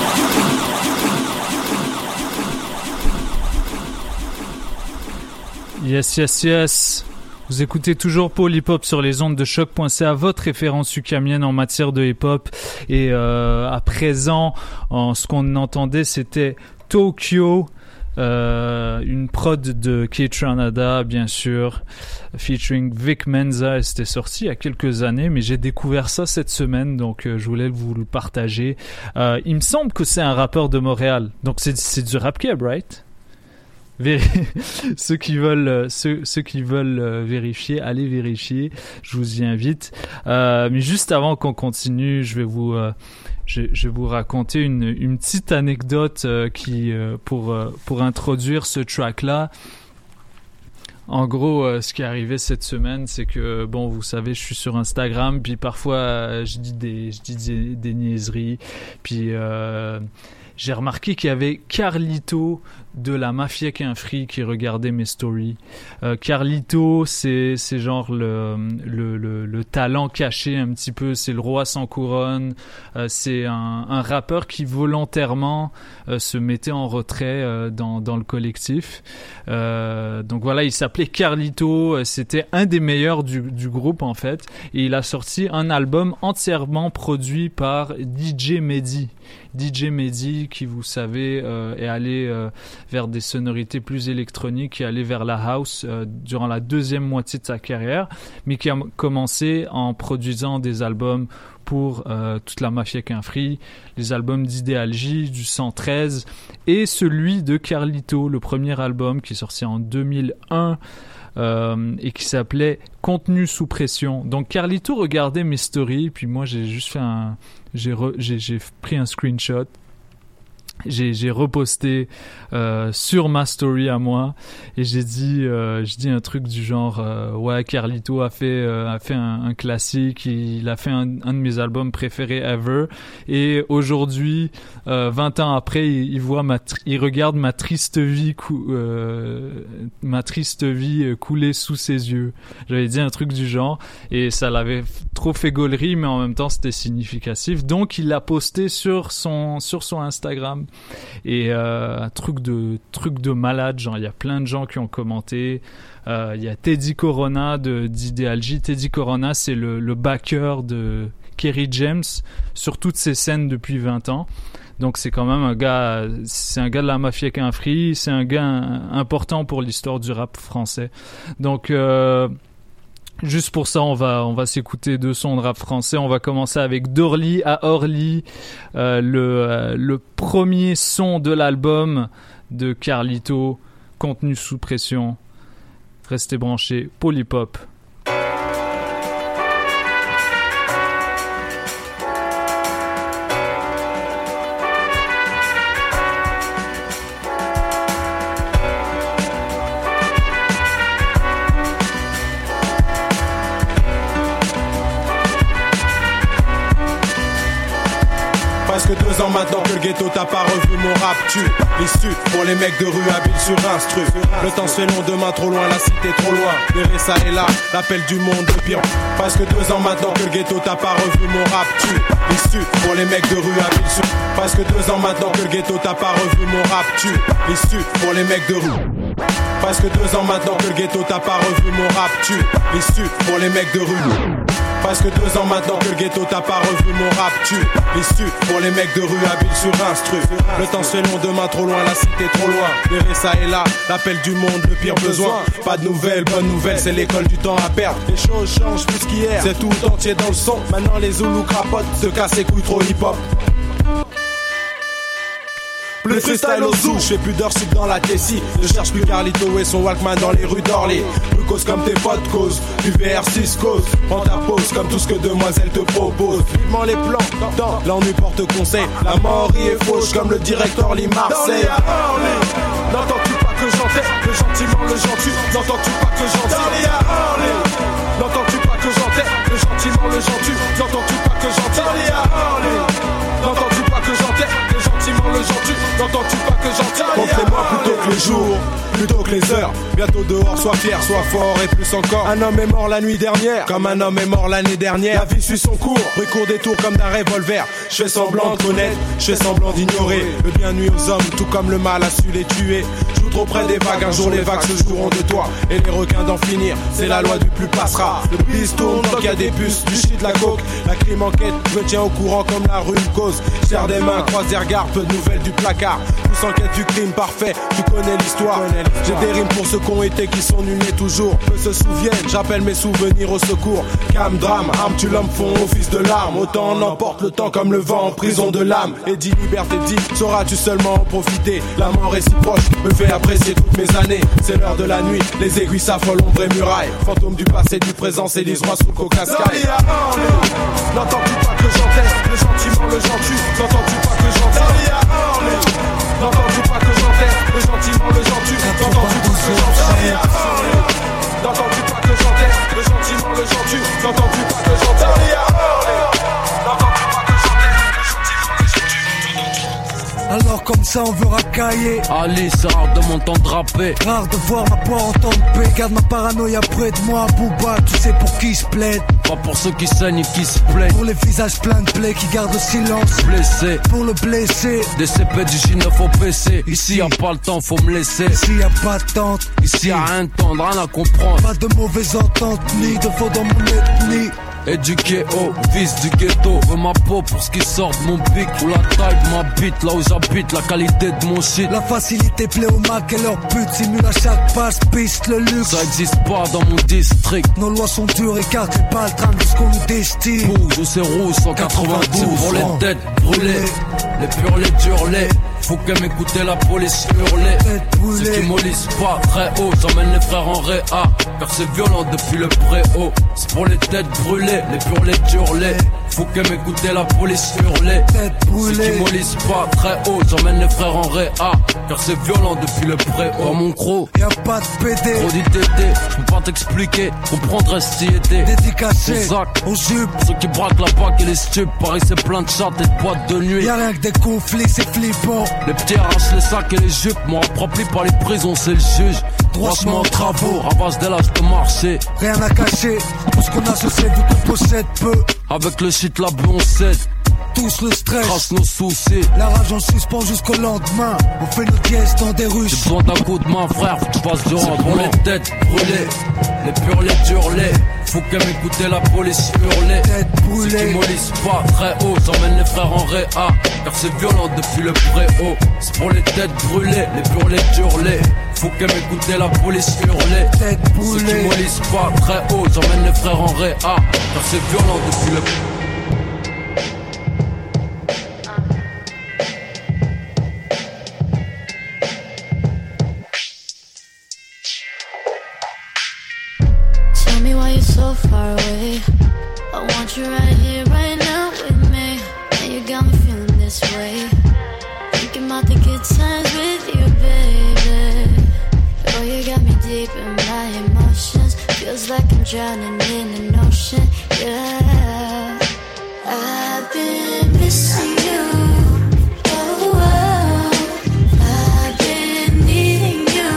Yes, yes, yes. Vous écoutez toujours Paul Hip Hop sur les ondes de choc point c a, votre référence ukamienne en matière de hip hop. Et euh, à présent, en, ce qu'on entendait, c'était Tokyo, euh, une prod de Kaytranada, bien sûr, featuring Vic Mensa. C'était sorti il y a quelques années, mais j'ai découvert ça cette semaine, donc euh, je voulais vous le partager. Euh, il me semble que c'est un rappeur de Montréal, donc c'est, c'est du rap keb, right? ceux qui veulent ceux, ceux qui veulent vérifier, allez vérifier, je vous y invite. Euh, mais juste avant qu'on continue, je vais vous euh, je, je vais vous raconter une, une petite anecdote euh, qui euh, pour euh, pour introduire ce track là. En gros, euh, ce qui est arrivé cette semaine, c'est que bon, vous savez, je suis sur Instagram, puis parfois euh, je dis des je dis des, des niaiseries, puis euh, j'ai remarqué qu'il y avait Carlito de la Mafia qu'un Free qui regardait mes stories. Euh, Carlito, c'est c'est genre le, le le le talent caché un petit peu, c'est le roi sans couronne. Euh, c'est un un rappeur qui volontairement euh, se mettait en retrait euh, dans dans le collectif. Euh, donc voilà, il s'appelait Carlito, c'était un des meilleurs du du groupe en fait, et il a sorti un album entièrement produit par D J Mehdi. D J Mehdi, qui vous savez euh, est allé euh, vers des sonorités plus électroniques, qui est allé vers la house euh, durant la deuxième moitié de sa carrière, mais qui a commencé en produisant des albums pour euh, toute la Mafia qu'un Free, les albums d'Idéalgie, du cent treize, et celui de Carlito, le premier album qui est sorti en deux mille un, Euh, et qui s'appelait Contenu sous pression. Donc Carlito regardait mes stories, puis moi j'ai juste fait un j'ai re, j'ai, j'ai pris un screenshot, j'ai j'ai reposté euh, sur ma story à moi, et j'ai dit euh, je dis un truc du genre euh, ouais, Carlito a fait euh, a fait un, un classique, il a fait un, un de mes albums préférés ever, et aujourd'hui euh, vingt ans après il, il voit ma tri- il regarde ma triste vie cou- euh, ma triste vie couler sous ses yeux. J'avais dit un truc du genre, et ça l'avait f- trop fait gaulerie, mais en même temps c'était significatif, donc il l'a posté sur son sur son Instagram. Et euh, un truc de truc de malade, genre il y a plein de gens qui ont commenté. Euh, il y a Teddy Corona de d'Idéalgie. Teddy Corona, c'est le, le backer de Kerry James sur toutes ses scènes depuis vingt ans. Donc c'est quand même un gars, c'est un gars de la Mafia qu'un Free, c'est un gars important pour l'histoire du rap français. Donc euh, juste pour ça, on va on va s'écouter deux sons de rap français. On va commencer avec d'Orly à Orly, euh, le euh, le premier son de l'album de Carlito, Contenu sous pression. Restez branchés, Paul Hip Hop. Presque deux ans maintenant que le ghetto t'a pas revu mon rap tue. L'issue pour les mecs de rue habiles sur instru. Le temps se fait long, demain trop loin, la cité trop loin. Derrière ça et là, l'appel du monde de pire. Presque deux ans maintenant que le ghetto t'a pas revu mon rap tue. L'issue pour les mecs de rue habiles sur. Presque deux ans maintenant que le ghetto t'a pas revu mon rap tue. L'issue pour les mecs de rue. Presque deux ans maintenant que le ghetto t'a pas revu mon rap tue. L'issue pour les mecs de rue. Presque deux ans maintenant que le ghetto t'a pas revu mon rap tue. L'issue pour les mecs de rue habiles sur instru. Le temps se fait long, demain trop loin, la cité trop loin. Derrière ça et là, l'appel du monde, le pire besoin. Pas de nouvelles, bonne nouvelle, c'est l'école du temps à perdre. Les choses changent plus qu'hier, c'est tout entier dans le son. Maintenant les Zoulous crapotent, se cassent les couilles trop hip hop. Le freestyle au zoo, je fais plus d'heures sup dans la Tessie. Je cherche plus Carlito et son Walkman dans les rues d'Orly. Plus cause comme tes potes cause, du V R six cause. Prends ta pause comme tout ce que demoiselle te propose. Vivement les plans, dans l'ennui porte conseil. La mort y est fauche comme le directeur Lee Marseille. N'entends-tu pas que j'enterre le gentiment le gentil? N'entends-tu pas que j'enterre? N'entends-tu pas que j'enterre le gentiment le gentil? N'entends-tu pas que j'enterre? N'entends-tu pas que j'enterre le gentiment le gentil? N'entends-tu pas que j'enterre? Comptez-moi plutôt que les jours, plutôt que les heures. Bientôt dehors, sois fier, sois fort et plus encore. Un homme est mort la nuit dernière, comme un homme est mort l'année dernière. La vie suit son cours, rue court des tours comme d'un revolver. Je fais semblant de connaître, je fais semblant d'ignorer. Le bien nuit aux hommes, tout comme le mal a su les tuer. Joue trop près des vagues. Un jour les vagues se joueront de toi et les requins d'en finir. C'est la loi du plus passera. Le bis tourne tant qu'il y a des puces, du shit, la coke. La crime enquête, je me tiens au courant comme la rue cause. Serre des mains, croise des regards, peu de nouvelles du placard. Tous enquête du crime parfait, tu connais l'histoire. J'ai des rimes pour ceux qui ont été, qui sont nuls et toujours. Peu se souviennent, j'appelle mes souvenirs au secours. Cam, drame, arme, tu l'homme font office de larmes. Autant on emporte le temps comme le vent en prison de l'âme. Et dit liberté, dit, sauras-tu seulement en profiter. La mort est si proche, me fait apprécier toutes mes années. C'est l'heure de la nuit, les aiguilles s'affolent, ombre et murailles. Fantôme du passé, du présent, s'élise-moi sous le coca sky. N'entends-tu pas que j'enteste le gentiment, le gentil? N'entends-tu pas que j'enteste? N'entends-tu pas que j'enteste le gentiment, le gentil? N'entends-tu pas que j'enteste? N'entends-tu pas que j'enteste le gentiment, le gentil? N'entends-tu pas que j'enteste? Alors comme ça on veut racailler. Ali, c'est rare de m'entendre draper. Rare de voir ma part en temps de paix. Garde ma paranoïa près de moi, Booba, tu sais pour qui je plaide. Pas pour ceux qui saignent et qui se plaignent. Pour les visages pleins de plaies qui gardent le silence. Blessé, pour le blessé. Des C P du J neuf au P C. Ici y'a pas le temps, faut me laisser. Ici y'a pas de tente. Ici y'a rien de tendre, rien à comprendre. Pas de mauvaise entente, ni de faux dans mon ethnie. Éduqué au vice du ghetto. Veux ma peau pour ce qui sort de mon bic. Ou la taille de ma bite, là où j'habite, la qualité de mon shit. La facilité plaît au Mac et leur but simule à chaque passe, piste le luxe. Ça existe pas dans mon district. Nos lois sont dures et cartes les balles traînent de ce qu'on nous destine. Rouge ou c'est rouge, cent quatre-vingt-douze. Pour les têtes brûlées, les purs, les durs, les. Faut que m'écouter la police hurler. Ceux qui mollissent pas très haut, j'emmène les frères en réa. Car c'est violent depuis le préau. C'est pour les têtes brûlées, les purs, les durs, les. Faut que m'écouter la police hurler. Ceux qui mollissent pas très haut, j'emmène les frères en réa. Car c'est violent depuis le préau. Dans mon croc, y'a pas de P D. Trop d'I T T, j'peux pas t'expliquer. Comprendrais si était dédicacé aux jupes. Ceux qui braquent la bague et les stupes. Paris c'est plein de chattes et de boîtes de nuit. Y'a rien que des conflits, c'est flippant. Les petits arrachent les sacs et les jupes. Moi rempli par les prisons, c'est le juge. Droitement en travaux, ravage dès l'âge de marché. Rien à cacher, tout ce qu'on a je sais vu qu'on possède peu. Avec le shit la on cède. Tous le stress, trace nos soucis. La rage en suspend jusqu'au lendemain. On fait nos dièses dans des rues. J'ai besoin d'un coup de main frère, faut que tu fasses du rang. Pour les têtes brûlées, les purs, les durs, les. Faut que m'écouter la police hurler. Ceux qui mollissent pas très haut, j'emmène les frères en réa. Car c'est violent depuis le préau. C'est pour les têtes brûlées, les purs, les durs, les. Faut que m'écouter la police hurler. Ceux qui mollissent pas très haut, j'emmène les frères en réa. Car c'est violent depuis le préau. So far away, I want you right here, right now with me. And you got me feeling this way. Thinking about the good times with you, baby. Oh, you got me deep in my emotions. Feels like I'm drowning in an ocean, yeah. I've been missing you. Oh, oh. I've been needing you.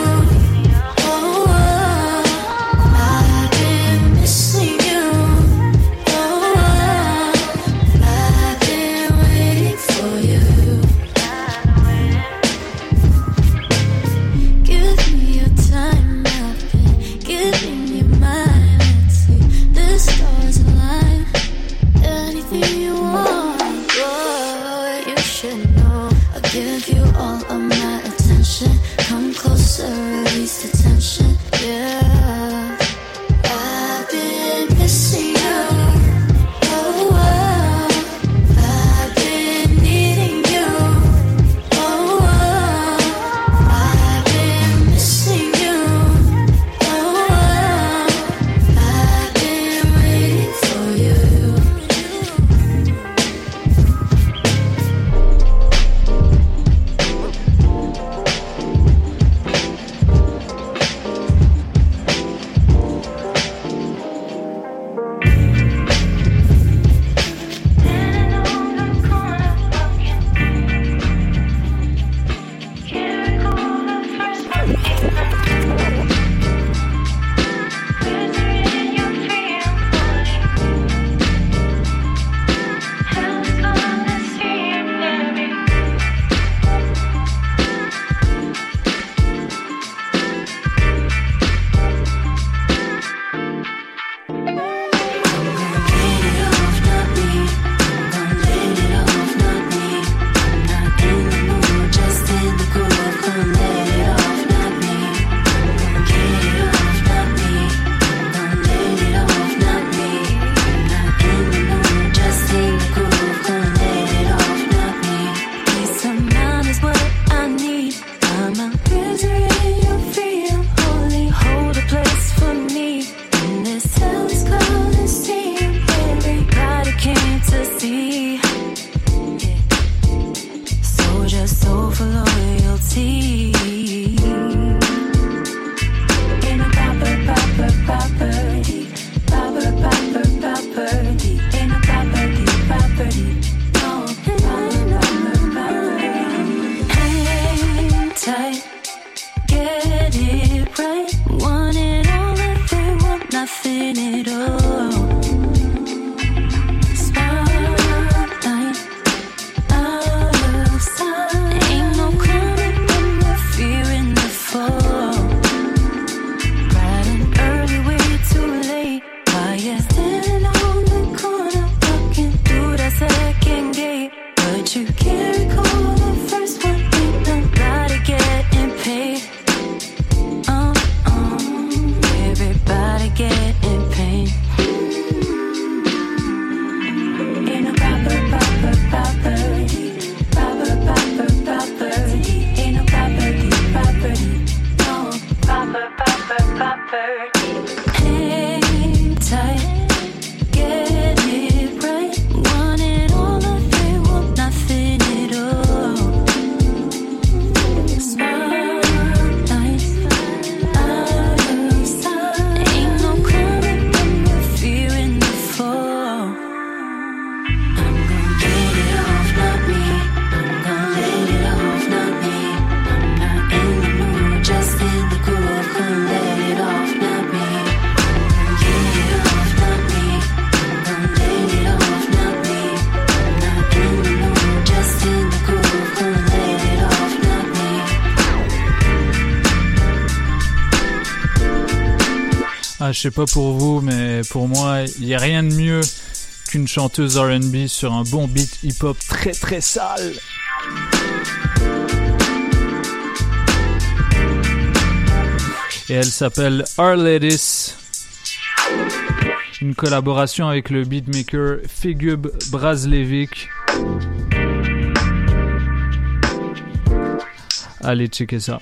Hang tight, get it right. Wanted all of it, want nothing at all. Spotlight, out of sight. Ain't no coming from the fear in the fall. I'm gonna get it off, not me. I'm gonna let it off, not me. I'm not in the mood, just in the groove. Gonna let it off, not me. I'm gonna get it off, not me. I'm gonna let it off, not me. I'm not in the mood, just in the groove. Gonna let it off, not me. Ah, je sais pas pour vous, mais pour moi, il y a rien de mieux qu'une chanteuse R and B sur un bon beat hip-hop très très sale. Et elle s'appelle Arledis. Une collaboration avec le beatmaker Figub Brazlevic. Allez checker ça.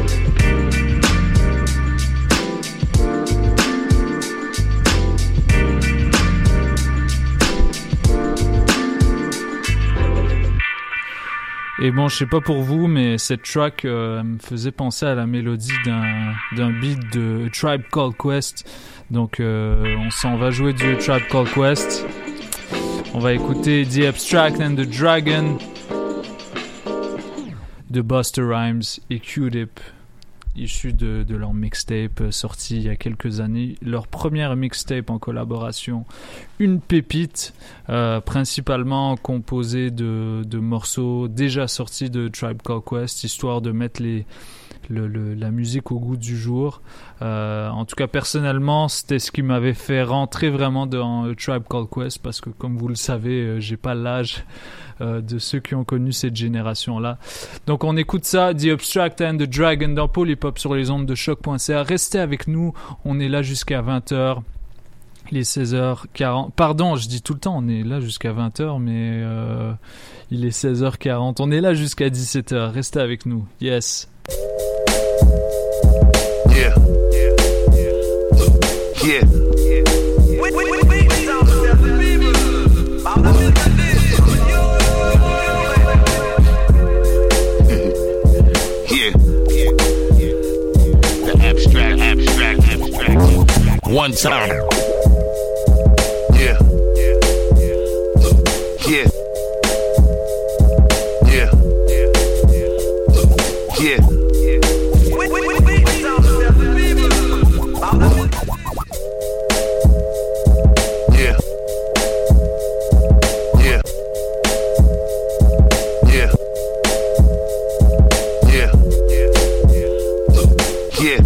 Et bon, je sais pas pour vous, mais cette track euh, me faisait penser à la mélodie d'un, d'un beat de A Tribe Called Quest. Donc euh, on s'en va jouer du A Tribe Called Quest. On va écouter The Abstract and the Dragon de Busta Rhymes et Q-Tip, issu de, de leur mixtape euh, sorti il y a quelques années. Leur première mixtape en collaboration, une pépite, euh, principalement composée de, de morceaux déjà sortis de Tribe Called Quest, histoire de mettre les, le, le, la musique au goût du jour. Euh, en tout cas, personnellement, c'était ce qui m'avait fait rentrer vraiment dans Tribe Called Quest, parce que comme vous le savez, euh, j'ai pas l'âge Euh, de ceux qui ont connu cette génération-là. Donc on écoute ça, The Abstract and the Dragon dans Polypop sur les ondes de choc point c a. Restez avec nous, on est là jusqu'à vingt heures. Il est seize heures quarante. Pardon, je dis tout le temps, on est là jusqu'à vingt heures, mais euh, il est seize heures quarante. On est là jusqu'à dix-sept heures. Restez avec nous. Yes. Yeah. Yeah. One time. Yeah. Yeah. Yeah. Yeah. Yeah. Yeah. Yeah. Yeah. Yeah.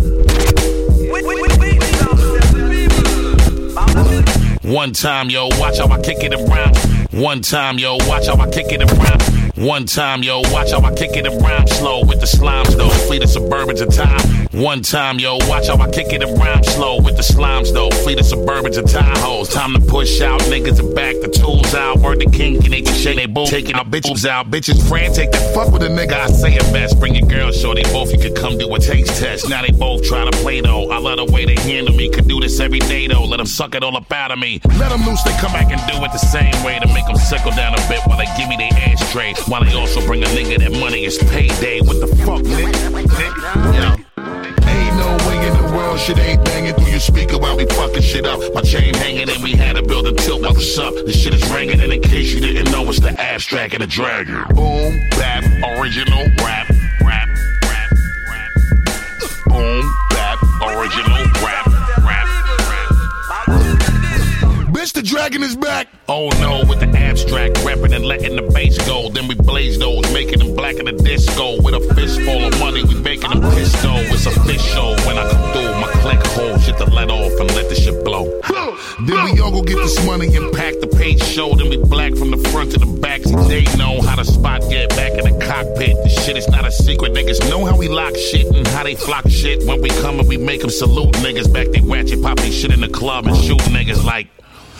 One time, yo, watch how I kick it around. One time, yo, watch how I kick it around. One time, yo, watch how I kick it around. Slow with the slimes, though, fleet of Suburbans in time. One time, yo, watch how I kick it around. Slow with the slimes, though, fleet of Suburbans and Tahoes. Time to push out, niggas are back, the tools out. Word the king, and they can shake they boo. Taking our bitches out, bitches frantic. That fuck with a nigga, I say it best. Bring your girl, show they both, you could come do a taste test. Now they both try to play, though. I love the way they handle me. Could do this every day, though. Let them suck it all up out of me. Let them loose, they come back and do it the same way to make them sickle down a bit while they give me their ashtray. While they also bring a nigga that money is payday. What the fuck, nigga? nigga? Yo. Ain't no way in the world shit ain't banging through your speaker while we fucking shit up. My chain hanging and we had to build a tilt while what's up. This shit is ringing and in case you didn't know, it's the Abstract and the Dragon. Boom, bap, original rap, rap, rap, rap. Boom, bap, original rap, rap, rap. Bitch, the Dragon is back. Oh no, with the Abstract, rapping and letting the bass go. Then we blaze those, making them black in the disco. With a fistful of money, we making them pistol. It's official when I come through, my click hold shit to let off and let the shit blow. Then we all go get this money and pack the page show. Then we black from the front to the back. See, they know how the spot get back in the cockpit. This shit is not a secret. Niggas know how we lock shit and how they flock shit. When we come and we make them salute niggas back. They ratchet pop they shit in the club and shoot niggas like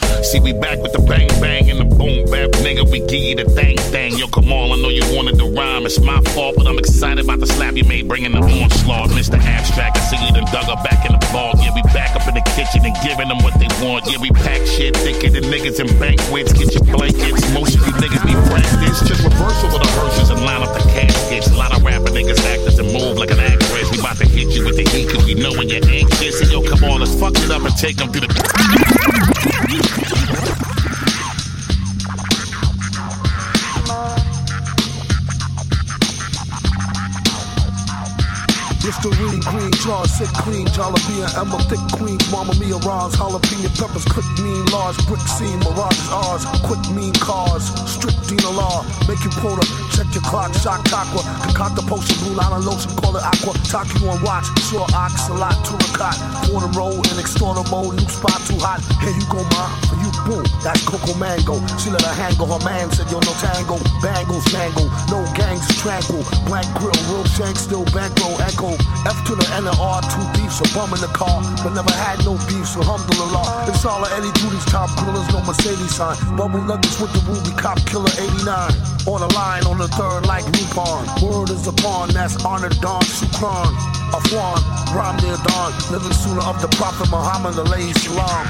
See, we back with the bang bang and the boom bap, nigga. We give you the thang thang. Yo, come on, I know you wanted to rhyme. It's my fault, but I'm excited about the slap you made, bringing the onslaught. Mister Abstract, I see you done dug up back in the ball. Yeah, we back up in the kitchen and giving them what they want. Yeah, we pack shit thicker than niggas in banquets. Get your blankets. Most of you niggas be practiced. Just reversal of the hearses and line up the caskets. A lot of rapper niggas actors and move like an actress. We about to hit you with the heat cause we know when you're anxious. And yo, come on, let's fuck it up and take them through the... Listerine, green jar, sick clean, jalapeno, Emma, thick queen, Mama Mia, Ron's, jalapeno peppers, quick, mean, large, brick scene, mirage ours, quick, mean cars, strict Dina law, make you quota, check your clock, shock aqua, concoct the potion, blue line and lotion, call it aqua, talk you on watch, sure ox, a lot, turicot, quarter roll, in extorter mode, new spot too hot, here you go, ma, for you, boom, that's Coco Mango, she let her hang on her man, said yo, no tango, bangles, mango, no gangs, tranquil, blank grill, real shank, still bankroll, echo, F to the N and R, two beefs, a bum in the car, but never had no beef, so alhamdulillah. It's all of Eddie Duty's top grillers, no Mercedes sign. Bubble nuggets with the Ruby Cop Killer eighty-nine. On the line, on the third, like Rupon. Word is upon, that's honored Don Shukran. Afwan, rhyme near dawn, living sooner of the Prophet Muhammad, alayhi salam.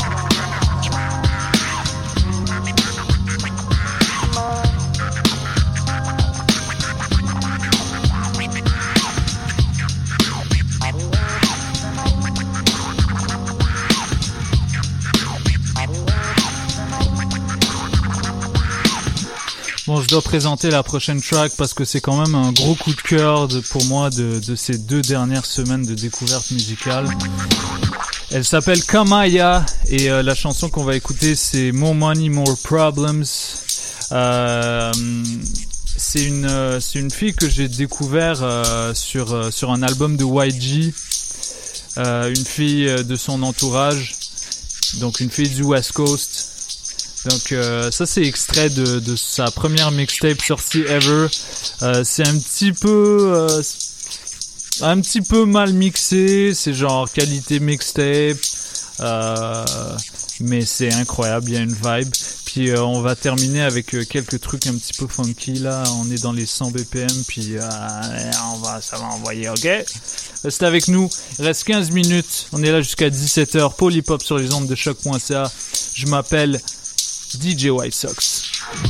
Bon, je dois présenter la prochaine track parce que c'est quand même un gros coup de cœur de, pour moi de, de ces deux dernières semaines de découverte musicale. Elle s'appelle Kamaya et euh, la chanson qu'on va écouter c'est More Money, More Problems. Euh, c'est une euh, c'est une fille que j'ai découvert euh, sur euh, sur un album de Y G. Euh, une fille de son entourage, donc une fille du West Coast. Donc euh, ça c'est extrait de, de sa première mixtape sortie ever. Euh, c'est un petit peu euh, un petit peu mal mixé, c'est genre qualité mixtape, euh, mais c'est incroyable, il y a une vibe. Puis euh, on va terminer avec euh, quelques trucs un petit peu funky là. On est dans les cent B P M, puis euh, on va ça va envoyer, ok. Restez avec nous, il reste quinze minutes. On est là jusqu'à dix-sept heures. Polypop sur les ondes de choc point c a. Je m'appelle D J White Sox.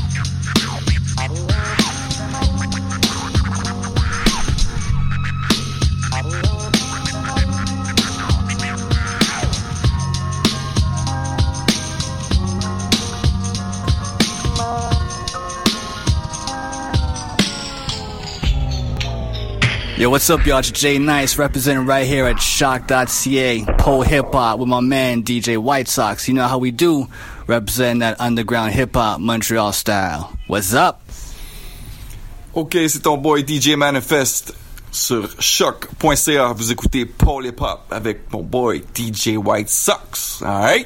Yo, what's up, y'all? It's Jay Nice representing right here at shock dot c a, Pole Hip Hop with my man D J White Sox. You know how we do, representing that underground hip hop Montreal style. What's up? Ok, c'est ton boy D J Manifest sur choc point c a. Vous écoutez Pole Hip Hop avec mon boy D J White Sox. Alright?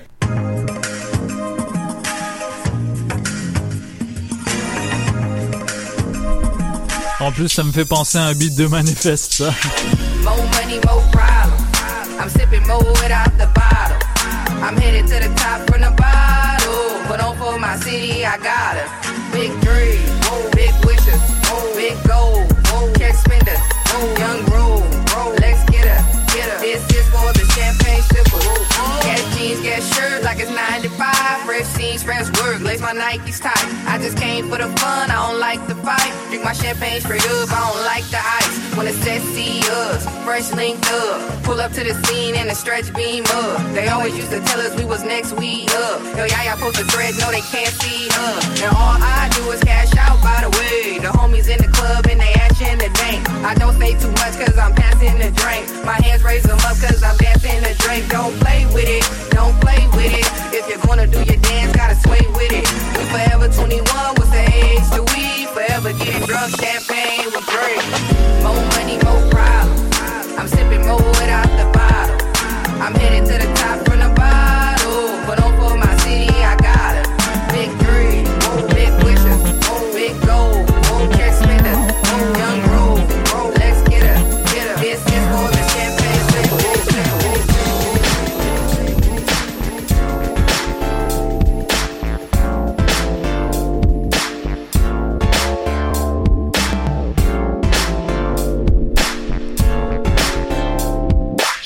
En plus, ça me fait penser à un beat de Manifest, ça. More money, more problems. I'm sipping more without the bottle. I'm headed to the top from the bottle. But on for my city, I got it. Big dreams, big wishes, big goals, cash spenders, young roll. Let's get her, get her. This is for the champagne sipper. Gas jeans, gas shirt like it's ninety-five. Fresh scenes, fresh work, lace my Nikes tight. I just came for the fun, I don't like the fight. Drink my champagne straight up, I don't like the ice. When it's sexy us, fresh linked up. Pull up to the scene and the stretch beam up. They always used to tell us we was next week up. Yo, y'all, y'all post the thread, no they can't see us. And all I do is cash out, by the way. The homies in the club and they action the dank. I don't say too much cause I'm passing the drink. My hands raise them up cause I'm dancing the drink. Don't play with it, don't play with it. If you're gonna do your dance, gotta sway with it. We forever twenty-one, what's the age to we? Forever getting drunk, champagne with drink. More money, more problems. I'm sipping more without the bottle. I'm headed to the top from the bottle. But on for my city, I got it. Big dreams, big wishes, big goals, cash spenders, young roll. Let's get her, get her. This is for the champagne.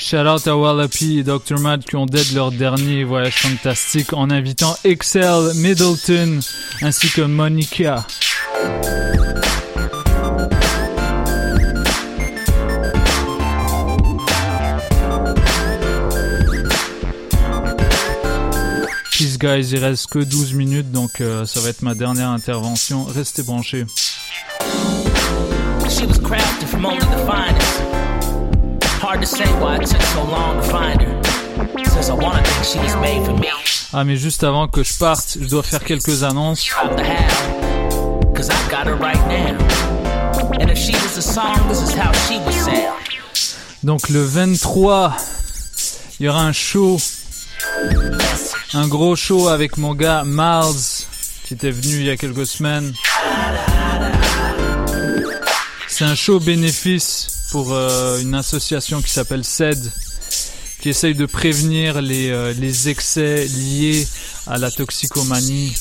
Shout out à Wallapie et docteur Mad qui ont dead leur dernier voyage fantastique en invitant Excel Middleton ainsi que Monica. Peace guys, il reste que douze minutes donc euh, ça va être ma dernière intervention. Restez branchés. She was crafted from only the finest. Hard to say why it took so long to find her. Since I wanna think she was made for me. Ah mais juste avant que je parte, je dois faire quelques annonces. Cause I got her right now. And if she was a song, this is how she would sound. Donc le vingt-trois, il y aura un show. Un gros show avec mon gars Miles qui était venu il y a quelques semaines. C'est un show bénéfice pour euh, une association qui s'appelle C E D qui essaye de prévenir les, euh, les excès liés à la toxicomanie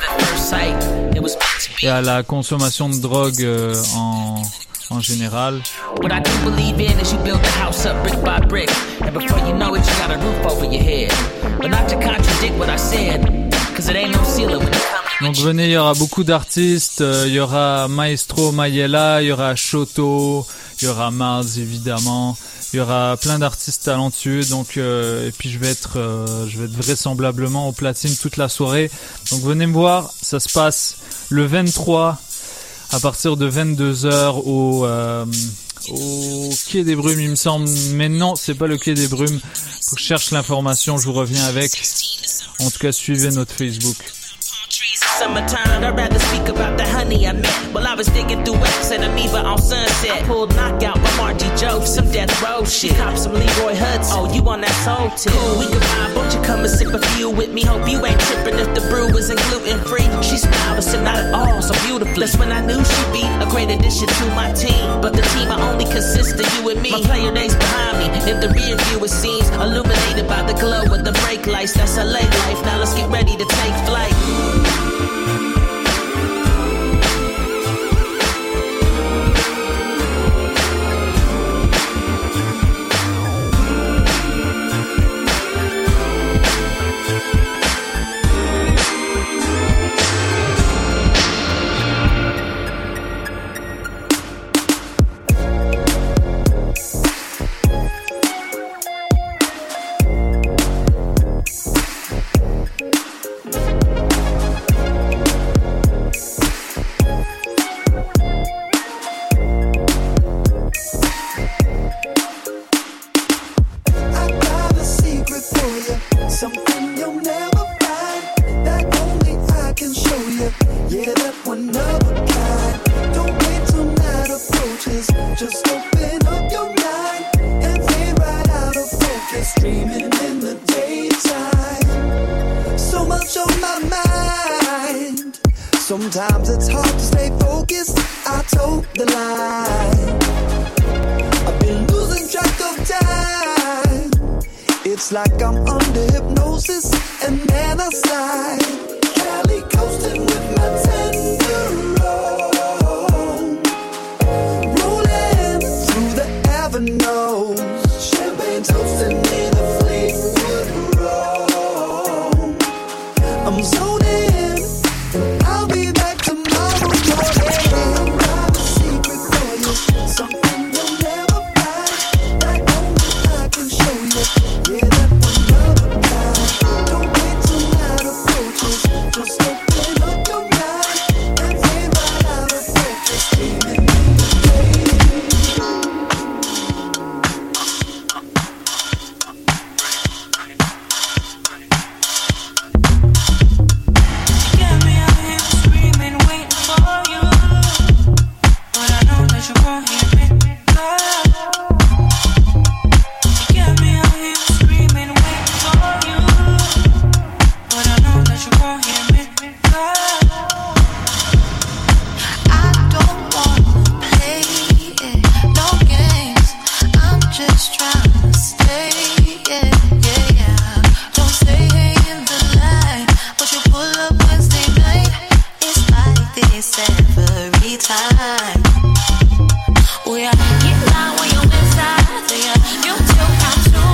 et à la consommation de drogue euh, en, en général. What I do believe in is you build a house up brick by brick, and before you know it, you got a roof over your head. But not to contradict what I said, cause it ain't no ceiling when it comes. Donc venez, il y aura beaucoup d'artistes, euh, il y aura Maestro Mayela, il y aura Shoto, il y aura Mars évidemment, il y aura plein d'artistes talentueux, donc euh, et puis je vais être, euh, je vais être vraisemblablement au platine toute la soirée. Donc venez me voir, ça se passe le vingt-trois à partir de vingt-deux heures au euh, au Quai des Brumes, il me semble, mais non, c'est pas le Quai des Brumes. Faut que je cherche l'information, je vous reviens avec. En tout cas, suivez notre Facebook. Summertime, I'd rather speak about the honey I met. While I was digging through X and Amoeba on Sunset. Pulled knockout by Margie Joe for some death row shit. Cop some Leroy Hudson. Oh, you on that soul tip. Cool, we can vibe, won't you come and sip a few with me? Hope you ain't tripping if the brew isn't gluten free. She smiled, but said not at all, so beautifully. That's when I knew she'd be a great addition to my team. But the team I only consist of you and me. My player days behind me. In the rear view it seems illuminated by the glow of the brake lights. That's L A life. Now let's get ready to take flight. Sometimes it's hard to stay focused. I told the line. I've been losing track of time. It's like I'm under hypnosis and then I slide. Cali coasting with my ten-year-old, rolling through the avenues. Champagne toasting in a Fleetwood roll. I'm zoning. I'll be back tomorrow morning. Got a secret for you, something you'll never find. That only I can show you. Yeah, that one of a kind. Don't wait till night approaches. Just open up your mind and stay right out of focus. Dreaming in the day. We are, you lie when you're inside, so yeah, you still come to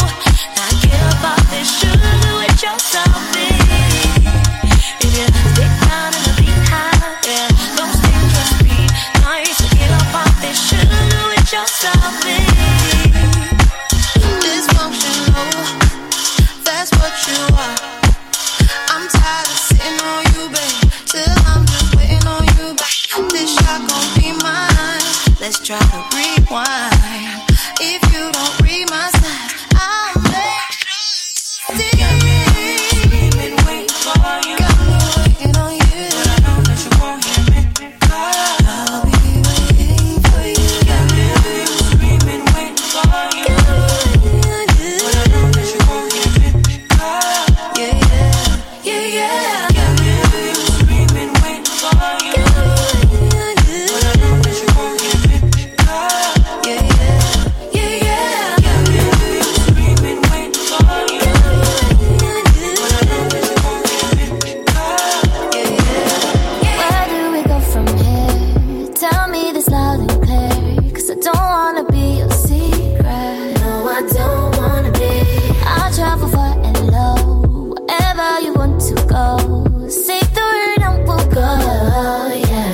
try to rewind. If you don't read my signs, I'll make you see. Got me screaming, waiting for you. Got me waiting on you, but I know that you won't hear me. I'll be waiting for you. Got me screaming, waiting for you. Got me waiting on you, but I know that you won't hear me. Yeah, yeah, yeah, yeah. Got me screaming, waiting for you. Got me waiting on you, but I know that you won't hear me. Yeah, yeah, yeah, yeah. Got me screaming, waiting for you. Got me waiting on you, but I know that you won't hear me. Yeah, yeah. Where do we go from here? Tell me this loud and clear, 'cause I don't wanna be your secret. No, I don't wanna be. I'll travel far and low, wherever you want to go. Say the word and we'll go, yeah.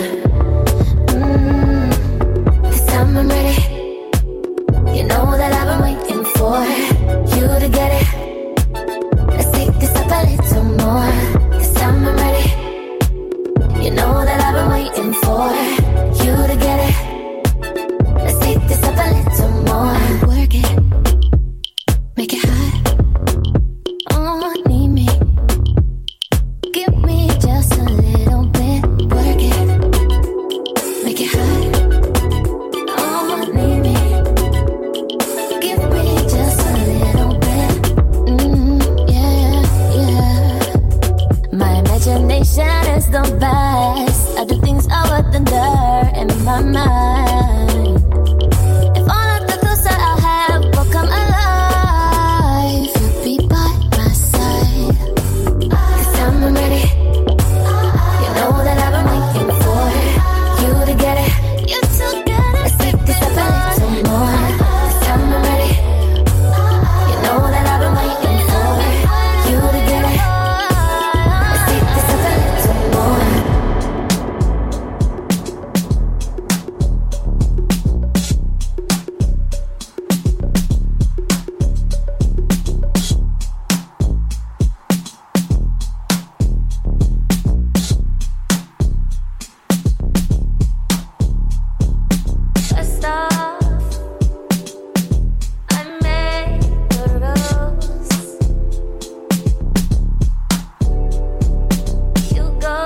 Mm, this time I'm ready. You know that I've been waiting for you to get it. Let's take this up a little more. This time I'm ready. You know that I've been waiting for you to get it. Let's take this up a little more. Work it, make it hot. Oh, need me. Give me just a little bit. Work it, make it hot. Oh, need me. Give me just a little bit. Mm, yeah, yeah. My imagination is the best. I do things I wouldn't dare in my mind. If all of the thoughts that I have will come alive, you'll be by my side. This time I'm ready. You know that I've been waiting for you to get it. You to get it. Let's take this up a little more. This time I'm ready. You know that I've been waiting for you to get it. Let's take this up a little more. First off, I made the rules. You go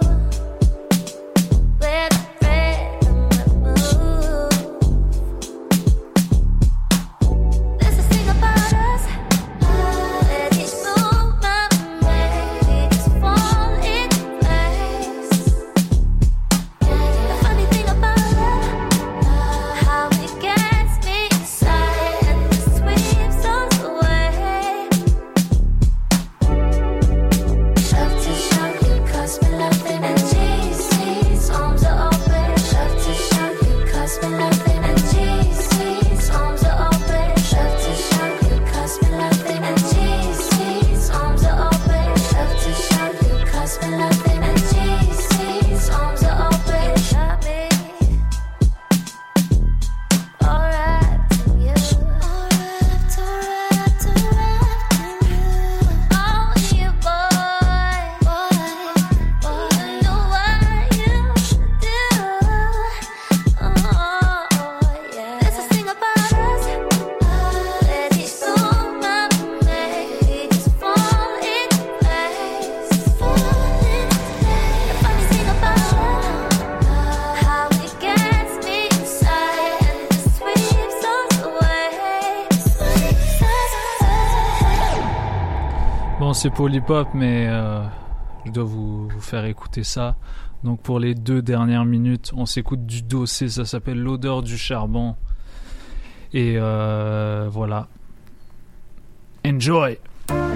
where the rhythm moves. There's this thing about us, where each movement we just fall in place. The funny thing about love, how it gets me inside and it sweeps us away. Love to show you, 'cause we nothing and Jesus, arms are open. Love to show you, 'cause we nothing and Jesus, arms are open. Love to show you, 'cause we nothing and Jesus, arms are open. Love to show you, 'cause we nothing and Jesus, arms are open. Got me all wrapped in you, all wrapped, all wrapped, all wrapped in you. Oh, you boy, boy, boy, I know what you do. Oh, yeah. There's this thing about us, where each movement we make, we just fall in place, fall in place. The funny thing about love, how it gets me inside and it sweeps us away, sweeps us away. Bon, c'est Polypop, mais euh, je dois vous, vous faire écouter ça. Donc pour les deux dernières minutes, on s'écoute du Dossé, ça s'appelle L'odeur du charbon. Et euh, voilà. Enjoy!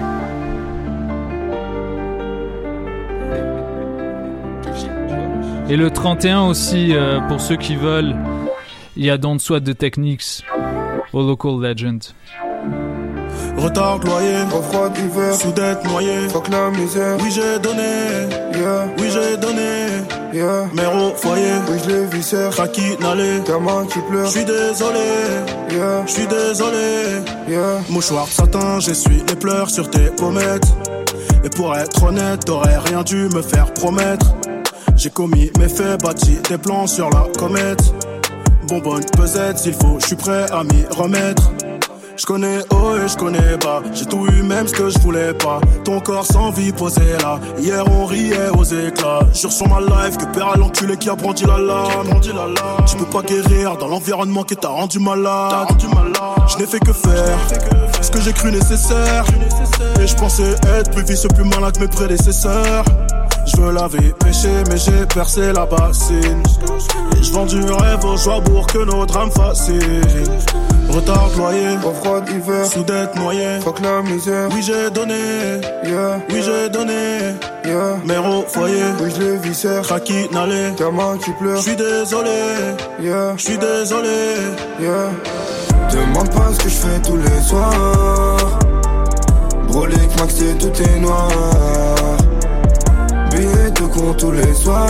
Et le trente et un aussi, euh, pour ceux qui veulent, il y a Don't Sweat the Techniques au Local Legend. Retard loyer, au froid d'hiver, soudette noyée, fuck la misère. Oui j'ai donné, yeah. Oui j'ai donné, yeah. Mère au foyer, oui je les viscère. Craquis n'allez, gamin qui pleure. J'suis désolé, yeah. J'suis désolé, yeah. Mouchoir de satin, j'essuie les pleurs sur tes pommettes. Et pour être honnête, t'aurais rien dû me faire promettre. J'ai commis mes faits, bâti des plans sur la comète. bonbonne pesette s'il faut, je suis prêt à m'y remettre. Je connais haut et je connais bas, j'ai tout eu même ce que je voulais pas. Ton corps sans vie posé là, hier on riait aux éclats. Jure sur ma life que père à l'enculé qui a brandi la lame. Tu peux pas guérir dans l'environnement qui t'a rendu malade. Je n'ai fait que faire ce que j'ai cru nécessaire. Et je pensais être plus vicieux, plus malin que mes prédécesseurs. Je veux laver, péché, mais j'ai percé la bassine. Et je vends du rêve aux joies pour que nos drames fascinent. Retard de loyer, au froid d'hiver, sous dette noyée, fuck la misère. Oui j'ai donné, yeah, oui j'ai donné, yeah, mère au foyer, oui je les viscère, Kraki n'allait, gamin qui pleure. J'suis désolé, yeah, j'suis désolé, yeah. Demande pas ce que je fais tous les soirs. Brolic, Max et tout est noir. Billets de con tous les soirs.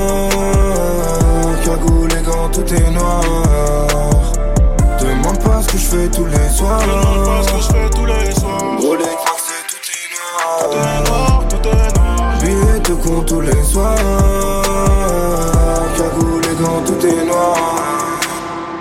Cagoule et gants, tout est noir. Demande pas ce que je fais tous les soirs. Demande pas ce que je fais tous les soirs. Brolic, Max et tout est noir. Tout est noir, tout est noir. Billets de con tous les soirs.